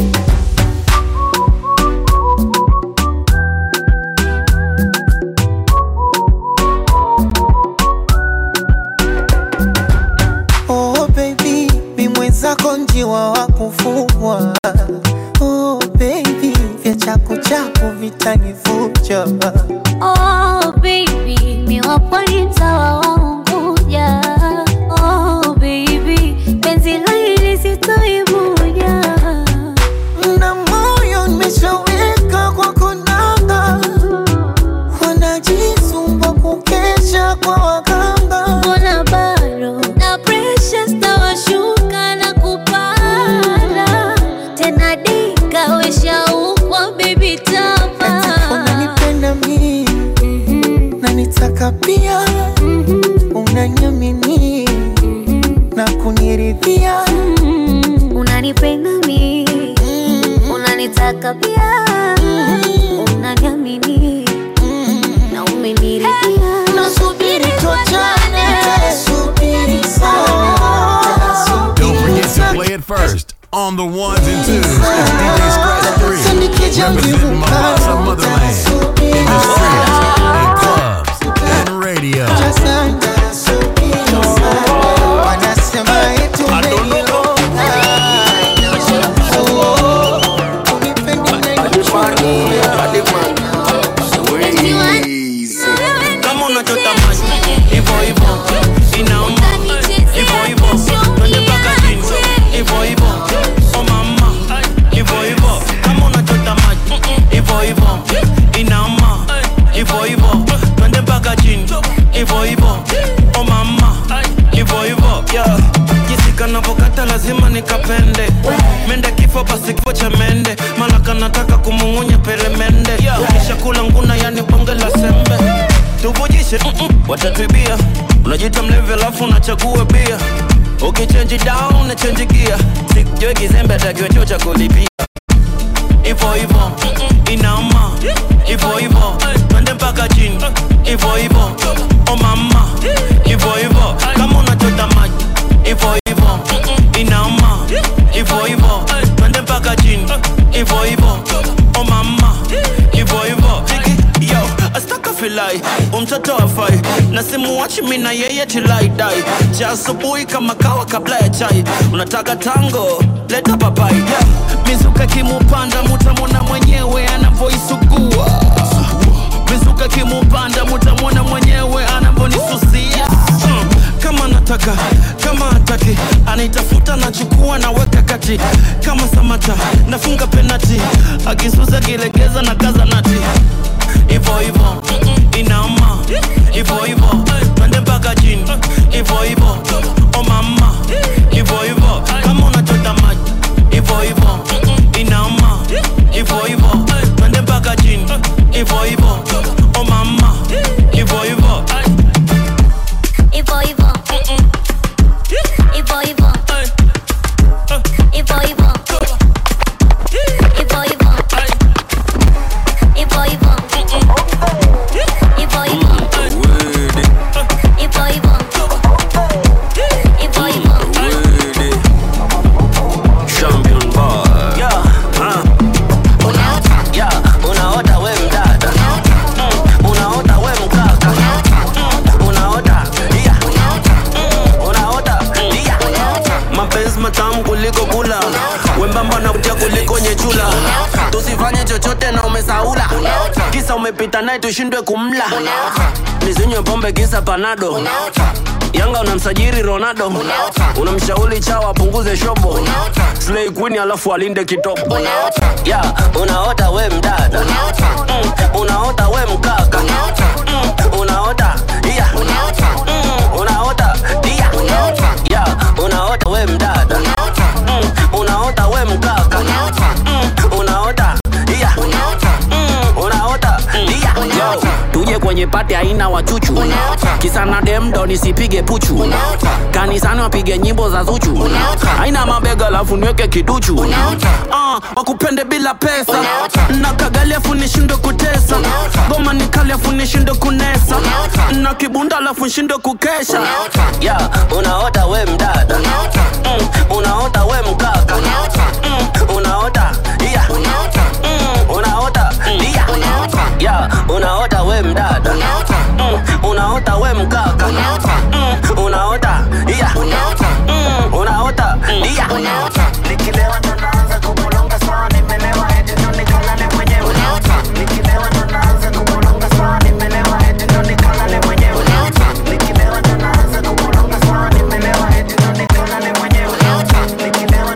Oh baby, mi mwenzako njiwa wa kufugwa. Oh baby, vya chaku chaku vitanivuja. oh baby, mi wapwani sitoivuja. Na moyo nimeshaweka kwa konanga, wanajisumba kukesha kwa waganga. Mbona bado na pressure stawashuka na kupanda tena dika wesha ukwa baby tama. Unanipenda mimi na nitaka pia, unaniamini na kuniridhia. Unanipenda mimi, unanitaka pia, unaniamini na umeniridhia. Nasubiri tuachane, subiri sana. Don't forget to play it first on the ones and twos. It's D J Scratch three, representing Mombasa Motherland in the streets and clubs and radio. Kama unachota maji hivyo hivyo inauma, hivyo hivyo twende mpaka chini, hivyo hivyo oh mama, hivyo hivyo. Kama unachota maji hivyo hivyo inauma, hivyo hivyo twende mpaka chini, hivyo hivyo oh mama, hivyo hivyo. Yeah, jinsi kanavokata lazima nikapende, mende kifo basi kifo cha mende, malaka nataka kumung'unya peremende. Ukisha kula nguna yani bonge la sembe, tuvujishe mm -mm, watatuibia. Unajita mlevi alafu unachagua bia, ukichange down na change gear, sikujue kizembe atakiwa chuo cha kulipia. Ivo ivo inauma, ivo ivo twende mpaka chini, ivo ivo oh mama, ivo ivo. Kama unachota maji ivo ivo inauma, ivo ivo twende mpaka chini, ivo ivo oh mama, ivo ivo. Yo, astaka filai, umtoto wafai, na simu wachi mina yeye tilai dai. Cha asubuhi kama kawa kabla ya chai, unataka tango, leta papai. Yeah, mizuka kimupanda mutamona mwenyewe anavoisugua, mizuka kimupanda mutamona mwenyewe anavonisusia. hmm. Kama nataka, kama hataki, anaitafuta na chukua na weka kati. Kama Samata, nafunga penati, akisuza kilegeza na kaza nati. Ivo ivo inauma, ivo ivo twende mpaka chini, ivo ivo oh mama, ivo ivo. Kama unachota maji ivo ivo inauma, ivo ivo twende mpaka chini, ivo ivo oh mama, ivo ivo. Ivo Ivo, Ivo Ivo, Ivo Ivo, Ivo Ivo, Ivo Ivo, Ivo Ivo, Ivo Ivo, Ivo Ivo, Champion boy. Yeah, huh. Unaota, yeah, unaota we mdada. Mm, unaota we mkaka. Mm, unaota, yeah. Mm, unaota, yeah. Mapenzi matamu kuliko kula, wembamba na kutia kuliko nyechula. Tusifanye chochote na umesaula, kisa umepita naye tushindwe kumla. Nizinywe pombe kisa panado, Yanga unamsajiri Ronaldo, unamshauri chawa apunguze shobo, Slay Queen alafu alinde kitopo. Yeah, unaota we mdada. Mm, unaota we mkaka. Mm, unaota, yeah. Mm, unaota, yeah. Yeah, unaota we mdada. Mm, unaota we mkaka. Mm, unaota, yeah. Mm, unaota, yeah. Yo, tuje kwenye pati haina wachuchu, kisa na demdo nisipige puchu, kanisani wapige nyimbo za Zuchu, haina mabega alafu niweke kiduchu. Ah, wakupende bila pesa, na kagali afu nishinde kutesa, goma nikali afu nishinde kunesa, na kibunda alafu nishinde kukesha. Yeah, unaota we mdada. Mm, unaota we mkaka. Mm, unaota, yeah. Mm, unaota, yeah. Yeah, unaota we mdada. Mm, unaota we mkaka. Mm, unaota, yeah. Mm, unaota, yeah. Nikilewa ndo naanza kubolonga sawa, nimelewa eti ndo nikalale mwenyewe. Nikilewa ndo naanza kubolonga sawa, nimelewa eti ndo nikalale mwenyewe. Nikilewa ndo naanza kubolonga sawa, nimelewa eti ndo nikalale mwenyewe. Nikilewa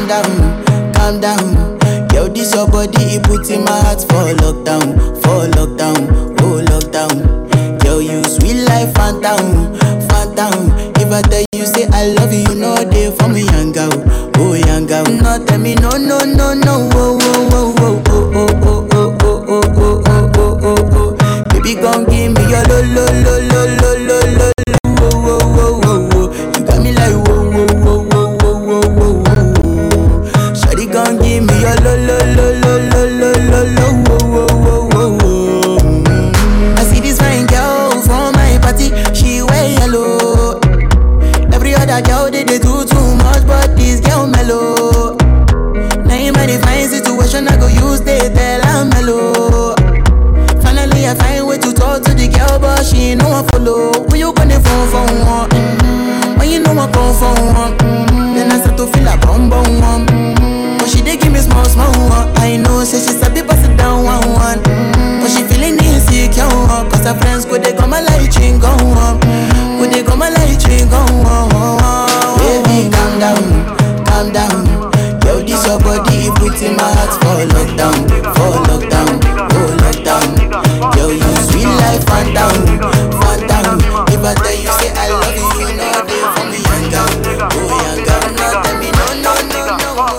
down, calm down. Yo, this your body, it puts in my heart for lockdown, for lockdown, oh lockdown. Yo, you sweet life, phantom, phantom. If I tell you say I love you, you know they for me young girl, oh young girl. No tell me no, no, no, no, oh, oh, oh, oh, oh, oh, oh, oh, oh, oh, oh, oh, oh, oh. Baby, gon' give me your lo, lo, lo, lo, lo, lo, lo, oh, oh, oh, oh, oh. You got me like whoa, whoa, whoa, whoa, whoa, whoa, whoa. Shawty gon' give me your lo, lo, lo, lo, lo, lo, lo, lo, whoa, whoa, whoa, whoa. I see this fine girl from my party, she wear yellow. Every other girl they, they do too much, but this girl mellow. Now in my fine situation, I go use they tell I'm mellow. Finally I find way to talk to the girl, but she ain't no one follow. When you gonna phone for one? Mm-hmm. When you know I come for one? Mm-hmm. Then I start to feel a bum bum one. Mm-hmm. But she they give me small small one. I know say she's a bit pass it down one one. Mm-hmm. But she feeling insecure, cause her friends go they come a light ring go on. Go they come a light ring go on. Baby calm down, calm down. Yo, this your body, it puts in my heart for lockdown, for lockdown, oh lockdown. Yo, you sweet life, phantom, phantom. If I tell you say I love you, you know they for me young girl, oh young girl. No tell me no, no, no,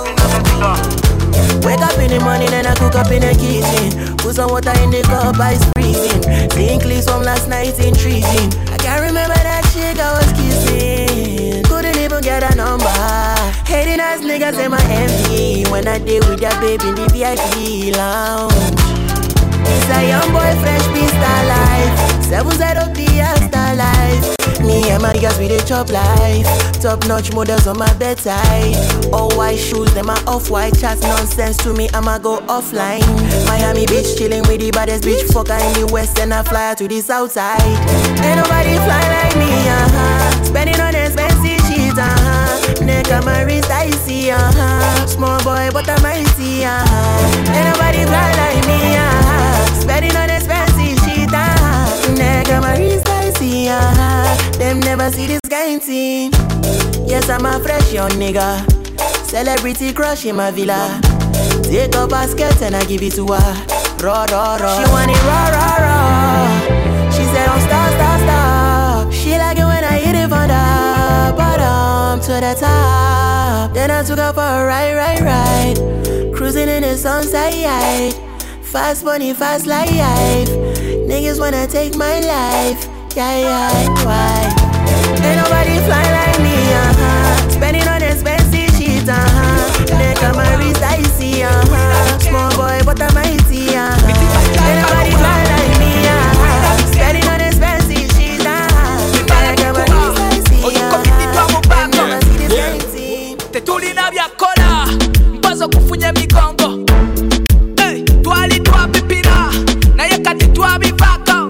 no. Wake up in the morning and I cook up in the kitchen. Put some water in the cup, ice freezing. Think clips from last night intriguing. I can't remember that chick I was kissing. Couldn't even get a number. Hating ass niggas in my M D. When I did with that baby in the V I P lounge. It's a young boy, fresh beast life. Seven side of the star life. Me and my girls, we dey chop life. Top notch models on my bedside. All white shoes, them are off-white. Chats nonsense to me, I'ma go offline. Miami Beach, chilling with the baddest bitch fucker in the west, and I fly to the south side. Ain't nobody fly like me, uh-huh. Spending on expensive shit, uh-huh. Neck on my wrist, I see, uh-huh. Small boy, but I'm icy, uh-huh. Ain't nobody fly like me, uh-huh. Spending on expensive shit, uh-huh. Neck on my wrist, I see, uh-huh. Them never see this kind thing. Yes, I'm a fresh young nigga. Celebrity crush in my villa. Take a basket and I give it to her. Raw, raw, raw. She want it raw, raw, raw. She said, don't stop, stop, stop. She like it when I hit it from the bottom to the top. Then I took her for a ride, ride, ride. Cruising in the sunset. Fast money, fast life. Niggas wanna take my life. Yeah, yeah, why? Ain't nobody fly like me, uh-huh. Spending on expensive shit, uh-huh. Neck on my wrist, I see, uh-huh. Small boy, but I'm mighty, uh-huh. Ain't nobody fly like me, uh-huh. Spending on expensive shit, uh-huh. Neck on my wrist, I see, uh-huh. Never see this kind of Tetulina vya kola, mpazo kufunye migongo. Hey, twali twa pipira, na ye kati twa bivaka.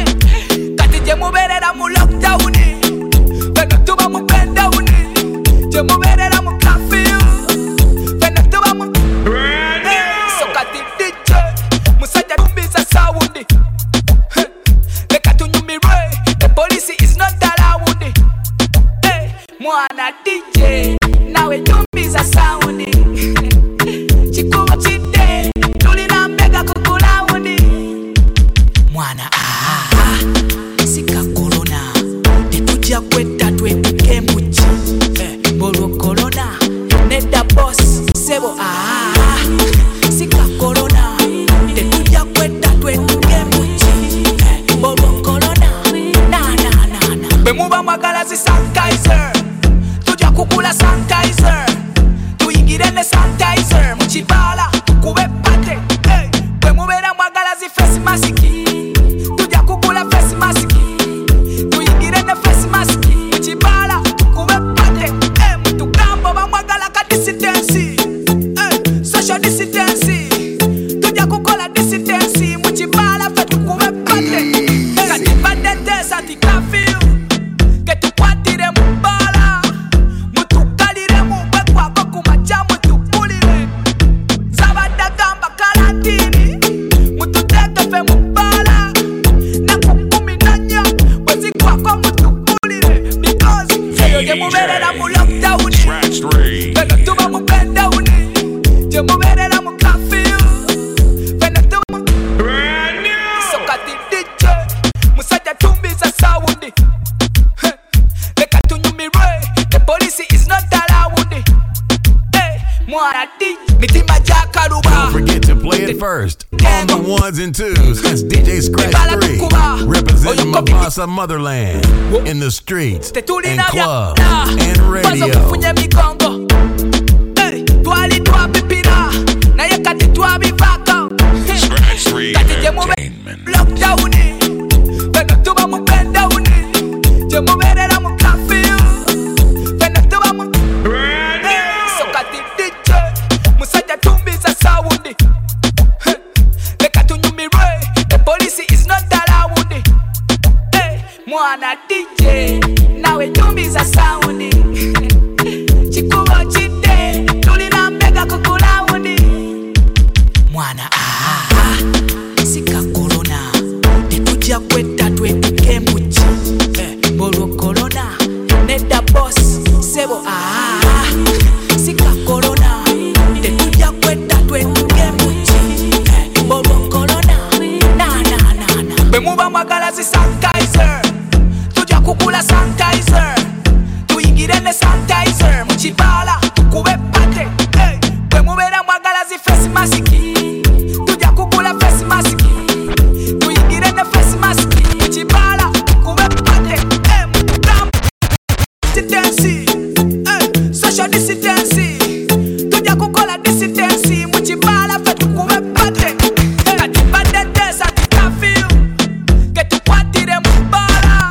Je muberera mu lockdown, beno tuba mu pendown. Je muberera mu curfew, beno tuba mu so kati D J musajja tumbiza sound. Leka tunyumire, the police is not around. Hey, mwana D J, nawe tumbiza sound. Chikuba chide, tulina mbega kukulaundi. Mwana ah. Sika corona, tetuja kweta twepike muchi. Eh, bolo corona, neda boss, sebo ah. Sika corona, tetuja kweta twepike muchi. Eh, bolo corona, na na na na. Bemuba magala si sanitizer, tuja kukula sanitizer. Tuingirene sanitizer, muchibala, kube pate. Eh, bemubera magala si face mask. Tuja kukula face mask. Social disidency, tuja kukola disidency, muchibala fetu kuwe pate. Kati badete santi curfew, ketu kwatire mbala, mutu kalire mubekwa koku macha mutu pulire. Don't forget to play it first on the ones and twos. It's D J Scratch three, representing my boss of motherland in the streets and clubs and radio. Scratch three Entertainment. Mwana D J, nawe nyumbiza saundi. Chikubo chite, tulina mbega kukulaundi. Mwana ah, sika corona. Tetuja kweta twetuke mbuchi. Eh, bolo corona, neda boss, sebo ah, sika corona. Tetuja kweta twetuke mbuchi. Eh, bolo corona, na na na na. Bemuba mwagala si sanitizer. Kukula sanitizer, tuingirene sanitizer. Muchibala, tukube pate, hey. Kwe mubera mwagala zi face mask. Tuja kukula face mask. Tuingirene face mask. Muchibala, tukube pate, hey. Mutam dissidency, hey. Social dissidency. Tuja kukula dissidency. Muchibala, fe tukube pate, hey. Katibande desa tikafio. Ketu kwatire mbala.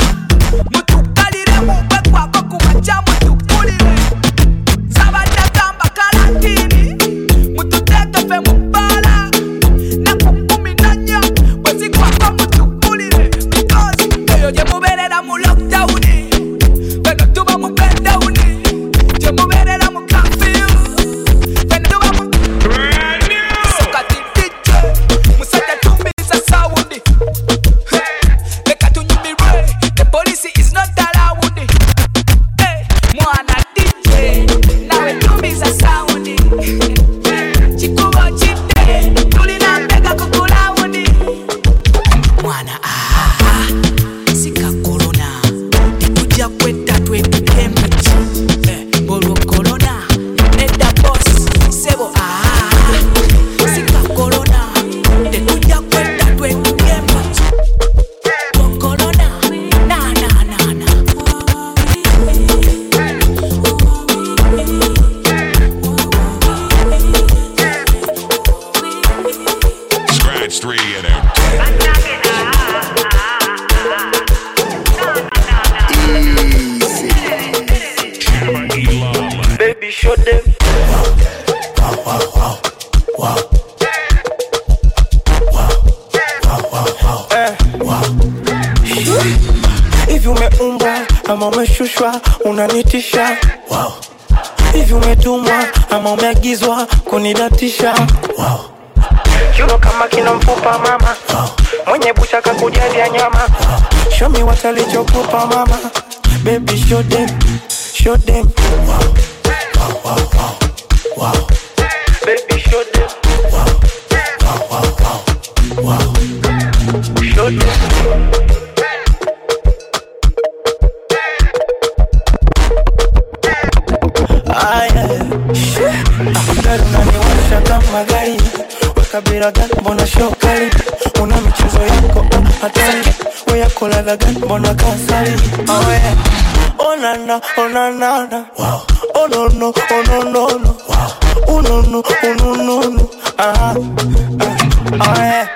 Unanitisha, wow. Hivi umetumwa ama umeagizwa kunidatisha, wow. Chuno kama kina mfupa mama, wow. Mwenye bucha kakujalia nyama, wow. Show me what alichokupa mama. Baby show them, show them, wow. Wow, wow, wow, wow. Baby show them, wow. Wow, wow, wow, wow. Show them. Unaniwasha kama gari, weka bira gani mbona shokali. Una michezo yako hatari, we yako ladha gani mbona kasari. Oh yeah, oh na na, oh na na na, wow. Oh no no, oh no no no, wow. Oh no no, oh no no no, ah, uh, oh yeah.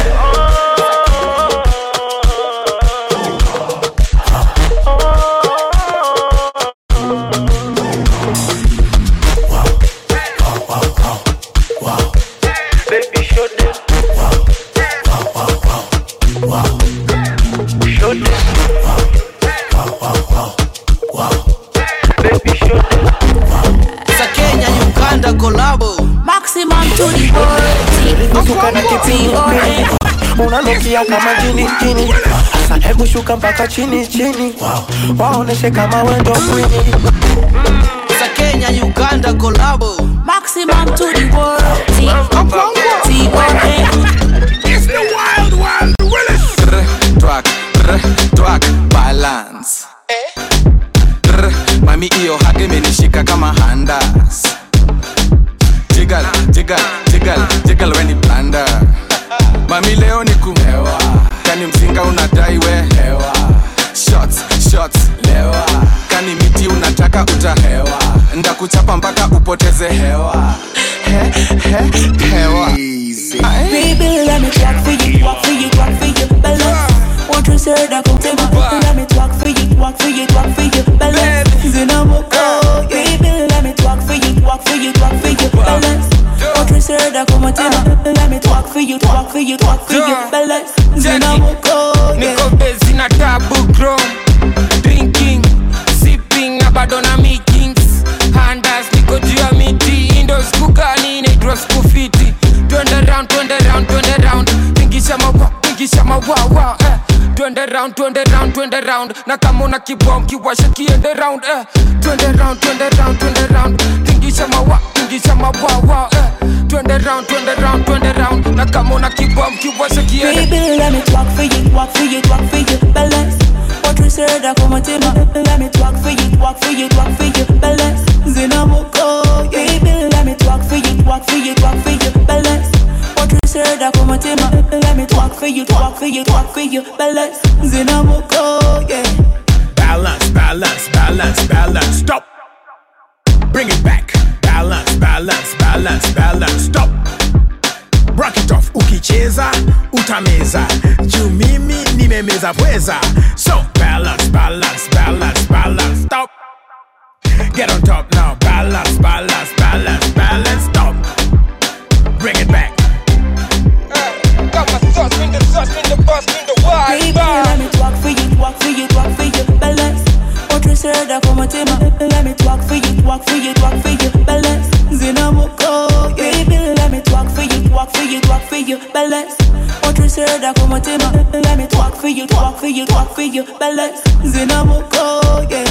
Unanukia kama jini jini. Asa hebu shuka mpaka chini chini, wow. Waoneshe kama wendo kwini. Sa Kenya, Uganda collabo. Maximum to the world. T O N It's the wild wild Willis. Track, track, balance. Eh? Mami iyo hage menishika kama handas. jiggle, jiggle, jiggle, jiggle when you blunder. Mami leo ni kumewa, kani mzinga unadai we lewa. Shots, shots, lewa. Kani miti unataka utahewa, ndakuchapa mpaka upoteze hewa. He, he, hewa. Baby, let me talk for you, walk for you, walk for you, balance. What you said, I come to my. Let me talk for you, walk for you, walk for you, balance. Zinamoko, baby, let me talk for you, walk for you, walk for you, balance. What you said, I come to my. Let me talk for you, walk for you, walk for you, balance. Zinamoko, niko busy na tabu chrome, drinking, sipping, abadona meetings, handers, niko juu ya miti, indoors kukani, naitwa skufiti. Twende round, twende round, twende round, tingisha mawa, tingisha mawa, eh. Twende round, twende round, twende round, na kama una kibom kiwasha kiende round, eh. Twende round, twende round, twende round, tingisha mawa, tingisha mawa, eh. Twende round, twende round, twende round, na kama una kibom kiwasha kiende. Baby, let me talk for you, walk for you, walk for you, balance. What you said, I come to my. Let me talk for you, walk for you, walk for you, balance. Zinamoko, baby, let me talk for you, walk for you, walk for you, balance. What you said, I come to my. Let me talk for you, walk for you, walk for you, balance. Zinamoko, yeah. Balance, balance, balance, balance, stop. Bring it back. Balance, balance, balance, balance, stop. Break it off, ukicheza, utameza. Juu mimi nimemeza pweza. So balance, balance, balance, balance, stop. Get on top now, balance, balance, balance, balance, stop. Bring it back. Uh, got my sauce, bring the sauce, bring the boss, bring the wild. Baby, let me talk for you, walk for you, walk for you, balance. What you said, I come to my. Let me talk for you, walk for you, walk for you, balance. Zinamoko, baby, let me talk for you, walk for you, walk for you, balance. What you said, I come to my. Let me talk for you, walk for you, walk for you, balance. Zinamoko, yeah.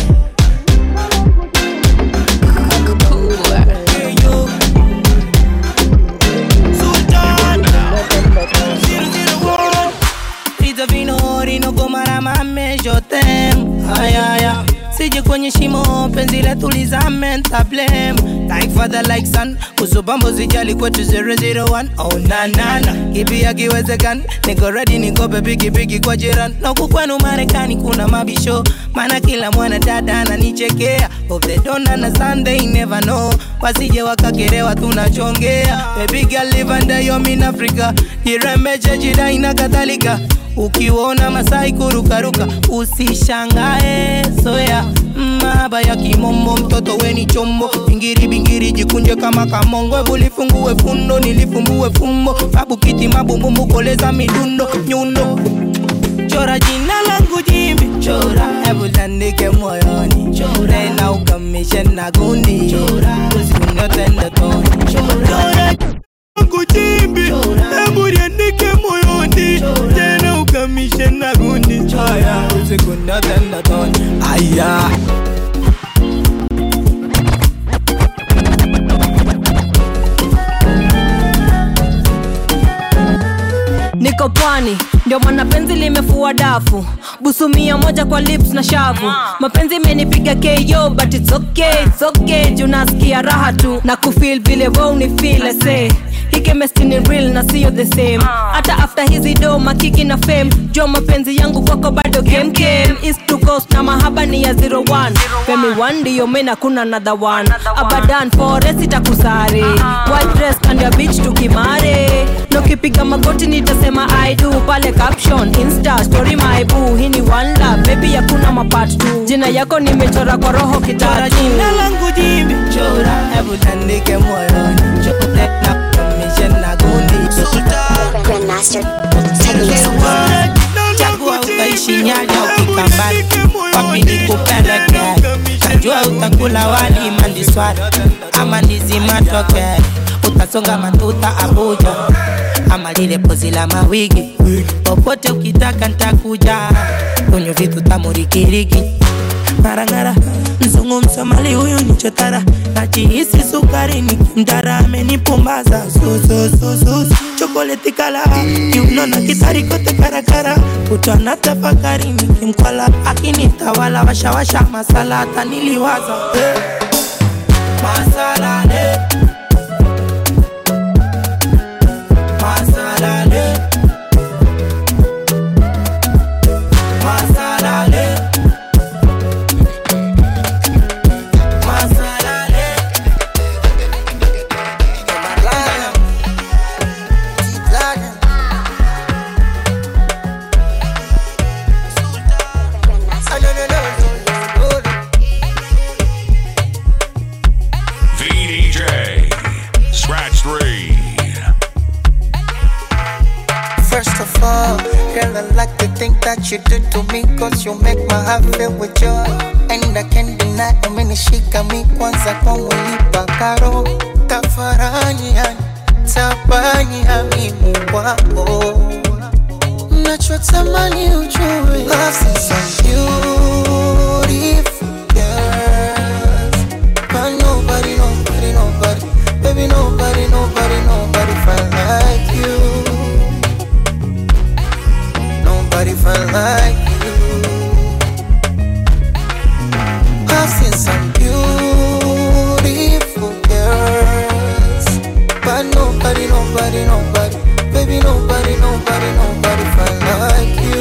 Vino koma na mame jotem ayaya sije kwenye shimo penzi letu lizame ntablem like father like son usubambo zijali kwetu zero zero one oh na na na kipi yakiwezekana niko ready niko bigi bigi kwa jirani na huku kwenu Marekani kuna mabisho maana kila mwana dada ananichekea of they don't understand they never know wasije wakakerewa tunachongea baby girl live under your in Africa iremeje jida ina kadhalika ukiona Masai kurukaruka usishangae soya maba ya kimombo mtoto weni chombo bingiri bingiri jikunje kama kamongo bulifungue fundo nilifumbue fumbo babu kiti mabumbumbu koleza midundo nyundo chora jina langu jimbi chora hebu tandike moyoni chora na ukamishe na gundi chora usikunyote toni chora langu jimbi hebu tandike moyoni tena ukamishe na gundi chora usikunyote toni aya. Niko pwani, ndio maana penzi limefua dafu. Busu mia moja kwa lips na shavu. Mapenzi imenipiga K O but it's okay, it's okay. Juu nasikia raha tu na kufeel vile wewe unifeel I say. Hii chemistry ni real na sio the same. Hata after hizi do makiki na fame, jua mapenzi yangu kwako bado game game. East to coast na mahaba ni ya zero one. Femi one ndio mena kuna another one. Abadan forest itakusare. White dress and your beach tukimare. No kipiga magoti nitasema I do. Pale caption, insta, story my boo. Hii ni one love, baby hakuna mapart two. Jina yako nimechora kwa roho kitara. Jina langu jimbi chora, hebu tandike moyoni. Chora na commission na gundi. Grandmaster, chagua utaishi nyaja ukikambani. Wapi nikupeleke, najua utakula wali mandiswari ama ndizi matoke. Utasonga matuta Abuja ama lile pozi la mawigi. Popote ukitaka nitakuja, kunyo vitu tamurikiriki. Marangara, mzungu msomali huyu ni chotara. Najihisi sukari nikimdara amenipumbaza. Su su su su chokoleti kala kiunona kitari kote karakara. Kutwana tafakari nikimkwala akinitawala washa washa masala hata niliwaza hey. Masala ne I like the thing that you do to me, cause you make my heart fill with joy. And I can't deny, umenishika mi kwanza kwa mwili pakaro. Tafarani yani, tabani hami mwako. Nachotamani ujue, love's in some beautiful girls, but nobody, nobody, nobody, baby nobody, nobody, nobody find like you. Nobody find like you. I've seen some beautiful girls, but nobody, nobody, nobody, baby nobody, nobody, nobody find like you.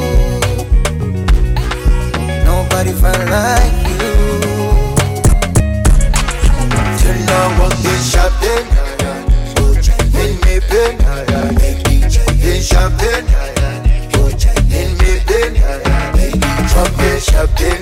Nobody find like you. Till now I'm getting shopping, in me pen, in shopping. Shopping,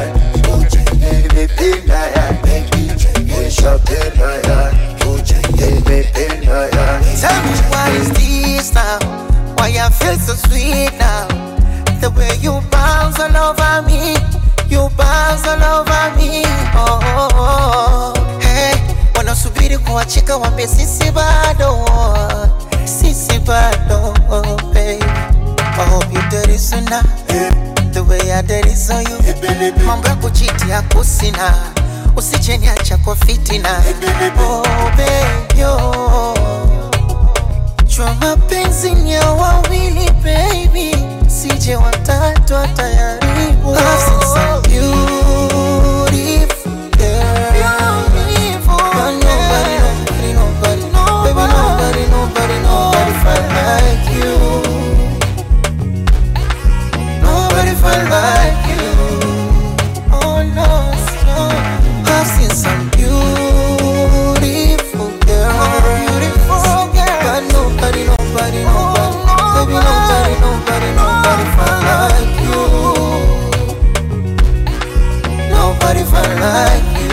tell me what is this now? Why I feel so sweet now? The way you bounce all over me, you bounce all over me. Oh, oh, oh. Hey, wanasubiri kuachika wambe sisi bado, sisi bado, oh, baby. I hope you dirty sooner. The way I did it so you mambo ya kuchiti ya kusina, usije niacha kwa fitina. Oh baby oh, chua mapenzi ni ya wawili baby, sije watatu atayaribu. I've seen some beautiful girls, but nobody, nobody, nobody, baby nobody, nobody, nobody find like you. Nobody find like you. Oh no, no. I've seen some beautiful girls, beautiful girls, but nobody, nobody, nobody, baby nobody, nobody, nobody find like you. Nobody find like you.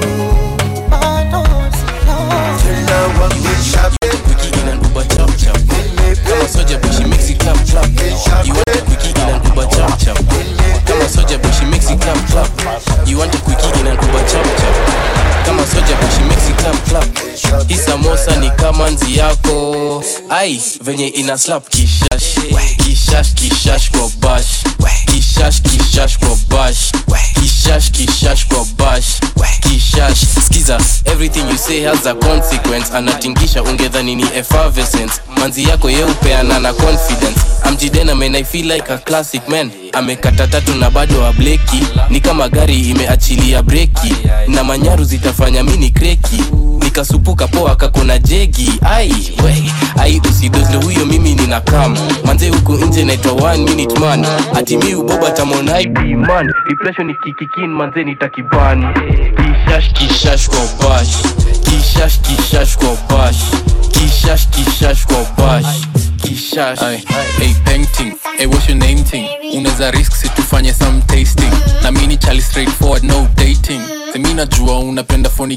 I don't know. Till now I'm getting shopping. Quickie in an Uber chop chop. Kama soja but she makes it clap clap. You want a quickie in an Uber chop chop. Kama soja but she makes it clap clap. You want a quickie in an Uber chop chop. Kama soja but she makes it clap clap. Hii samosa ni kama nzi yako. Ai, venye ina slap kishash. Kishash kishash kwa bash. Kishash kishash kwa bash. Kishash kishash kwa bash. Kishash. Skiza, everything you say has a consequence. Anatingisha ungedhani ni effervescence. Manzi yako ye upeana na confidence. Amjidena man I feel like a classic man. Amekata tatu na bado wa bleki. Ni kama gari imeachilia breki. Na manyaru zitafanya mini kreki. Nikasupuka poa kakona jegi. Ai, wey, ai usidozle huyo mimi nina kama. Manze huku nje naitwa one minute man. Ati mi uboba tamon I be man. Depression ni kikikin manze nitakibani. Kishash kishash kwa bash. Kishash kishash kwa bash. Kishash kishash kwa bash. Kishash. Ay, hey painting, hey what's your name thing? Unaweza risk si tufanye some tasting. Na mini chali straightforward no dating. Semina jua unapenda phony.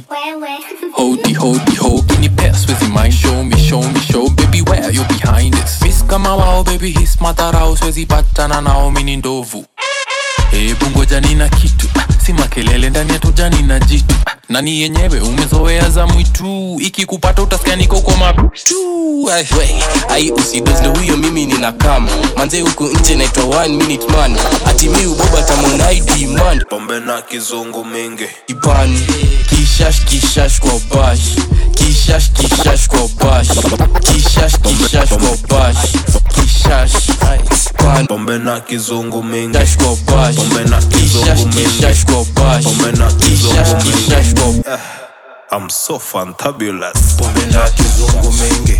Hodi hodi ho, kini pass with my show me show me show baby where you behind this. Miss kama wao baby his matarao swezi patana nao mini ndovu. Hebu ngoja nina kitu, si makelele ndani ya tujani na jitu. Nani yenyewe umezoea za mwitu, ikikupata utasikia niko kwa mabutu. Wey, ai usidozle huyo mimi nina kama. Manze huku nje naitwa one minute man. Ati mi uboba tamon I demand. Pombe na kizungu mingi Ibani, kishash kishash kwa bash. Kishash kishash kwa bash. Kishash kishash kwa bash. Kishash, ai pan. Pombe na kizungu mingi Kishash kwa bash. Pombe na kizungu mingi Kishash kwa bash. Pombe na kizungu Kishash kwa I'm so fantabulous. Pombe na kizungu mingi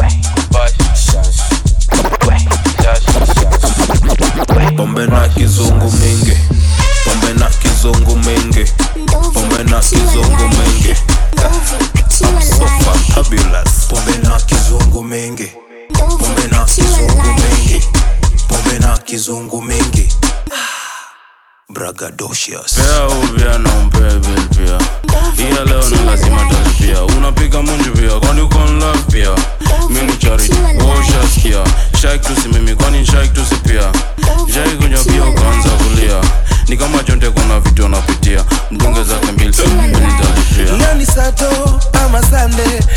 Pombe na kizungu mingi Pombe na kizungu mingi Pombe na kizungu mingi I'm so fantabulous. Pombe na kizungu mingi Pombe na kizungu mingi Pombe na kizungu mingi Bragadocious. Pea ubia na umpea bill pia. Iya leo ni lazima talipia. Unapiga munju pia, kwani uko in love pia. Mini charity, washa skia. Shake tu si mimi, kwani shake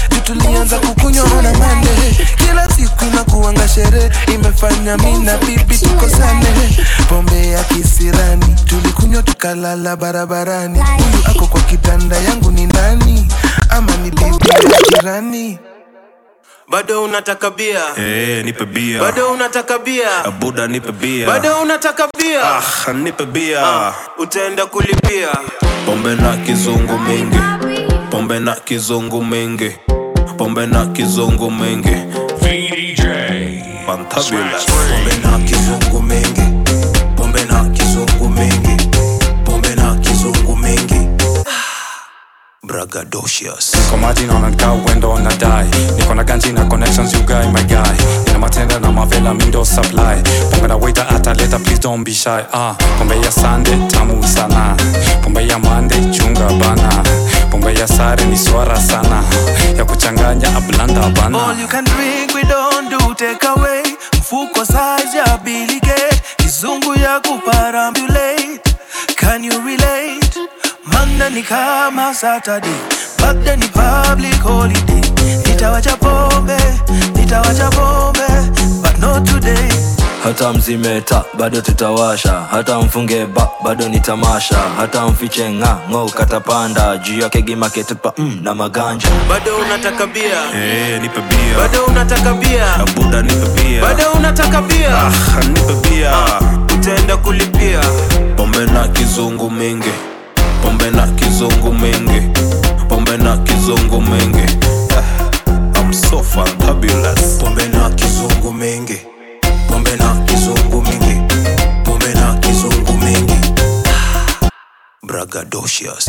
tulianza kukunywa na mande. Kila siku inakuanga sherehe, imefanya mimi na bibi tukosane. Pombe ya kisirani, tulikunywa tukalala barabarani. Huyu ako kwa kitanda yangu ni nani? Ama ni bibi ya jirani? Bado unataka bia? Eh, nipe bia. Bado unataka bia? Abuda nipe bia. Bado unataka bia? Ah, nipe bia. Ah, utaenda kulipia. Pombe na kizungu mingi. Pombe na kizungu mingi. Pombe na kizungu mingi. V D J Fantabulous. Pombe na kizungu mingi. Pombe na kizungu mingi. Pombe na kizungu mingi. Bragadocious. Niko maji na unakaa uendo unadai. Niko na ganji na connections you guy my guy. Nina matenda na mavela mindo supply. Pombe na waiter ataleta please don't be shy. Ah, pombe ya Sunday tamu sana. Pombe ya Monday chunga bana. Pombe ya sare ni swara sana. Ya kuchanganya ablanda bana. All you can drink we don't do take away. Mfuko size ya bilige. Kizungu ya kuparambulate. Can you relate? Monday ni kama Saturday, Monday ni public holiday. Nitawacha pombe, nitawacha pombe, but not today. Hata mzimeta, bado tutawasha. Hata mfunge ba, bado ni tamasha. Hata mfiche nga, ngo katapanda. Juu ya kegi maketupa, mm, na maganja. Bado unataka bia? Eh, nipe bia. Bado unataka bia? Abuda nipe bia. Bado unataka bia? Ah, nipe bia. Ah, utaenda kulipia. Pombe na kizungu mingi. Pombe na kizungu mingi. Pombe na kizungu mingi. I'm so fantabulous. Pombe na kizungu mingi. Pombe na kizungu mingi. Pombe na kizungu mingi. Bragadocious.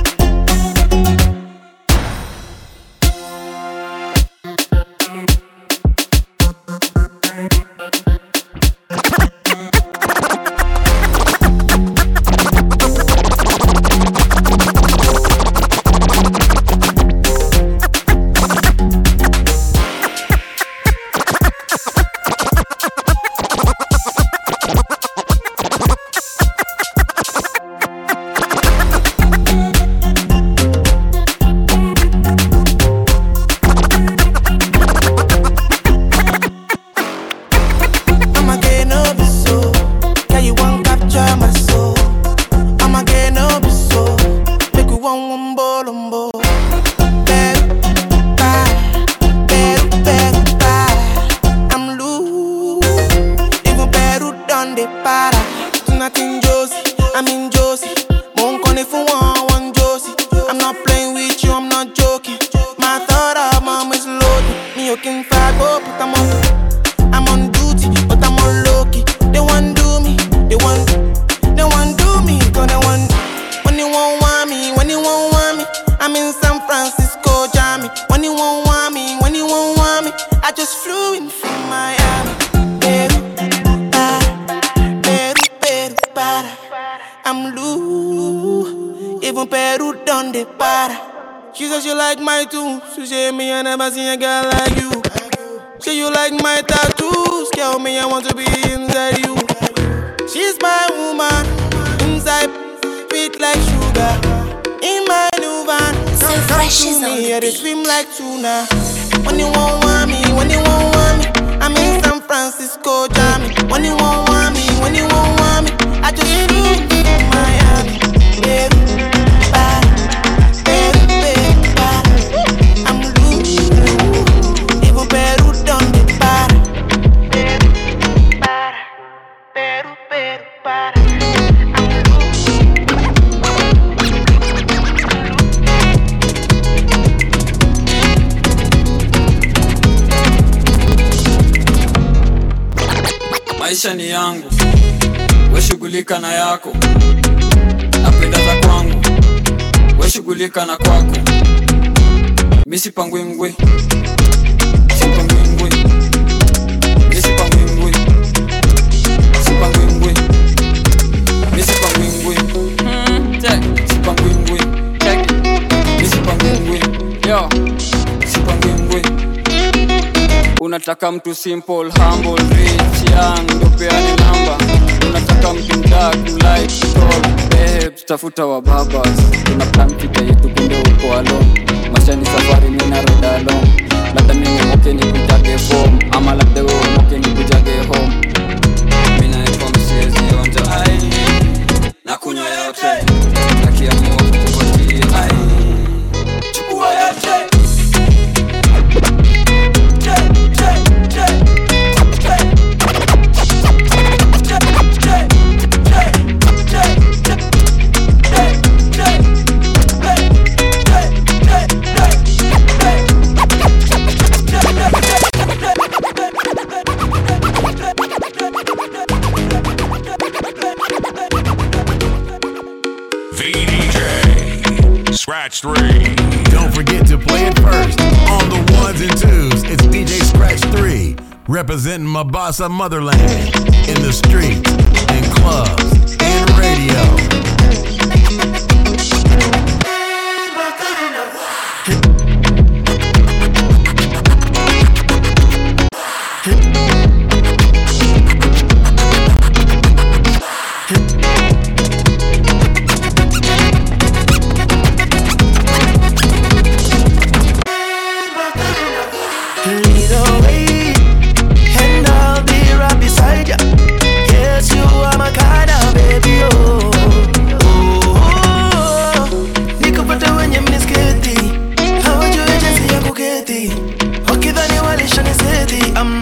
Maisha ni yangu, we shughulika na yako. Napenda za kwangu, we shughulika na kwako. Misi pangwe ngwe, sipangwe ngwe. Misi pangwe ngwe, sipangwe ngwe. Misi pangwe ngwe, sipangwe ngwe. Misi pangwe ngwe, yo, sipangwe ngwe. Unataka mtu simple, humble, rich, young, ndo peani namba. Unataka mtu mdark, light, tall, babes, tafuta wa babas. Tuna plan kita yetu kunde uko alone. Maisha ni safari mina roda alone. three. Don't forget to play it first. On the ones and twos, it's D J Scratch three. Representing my boss of motherland. In the streets, in clubs, in radio. I'm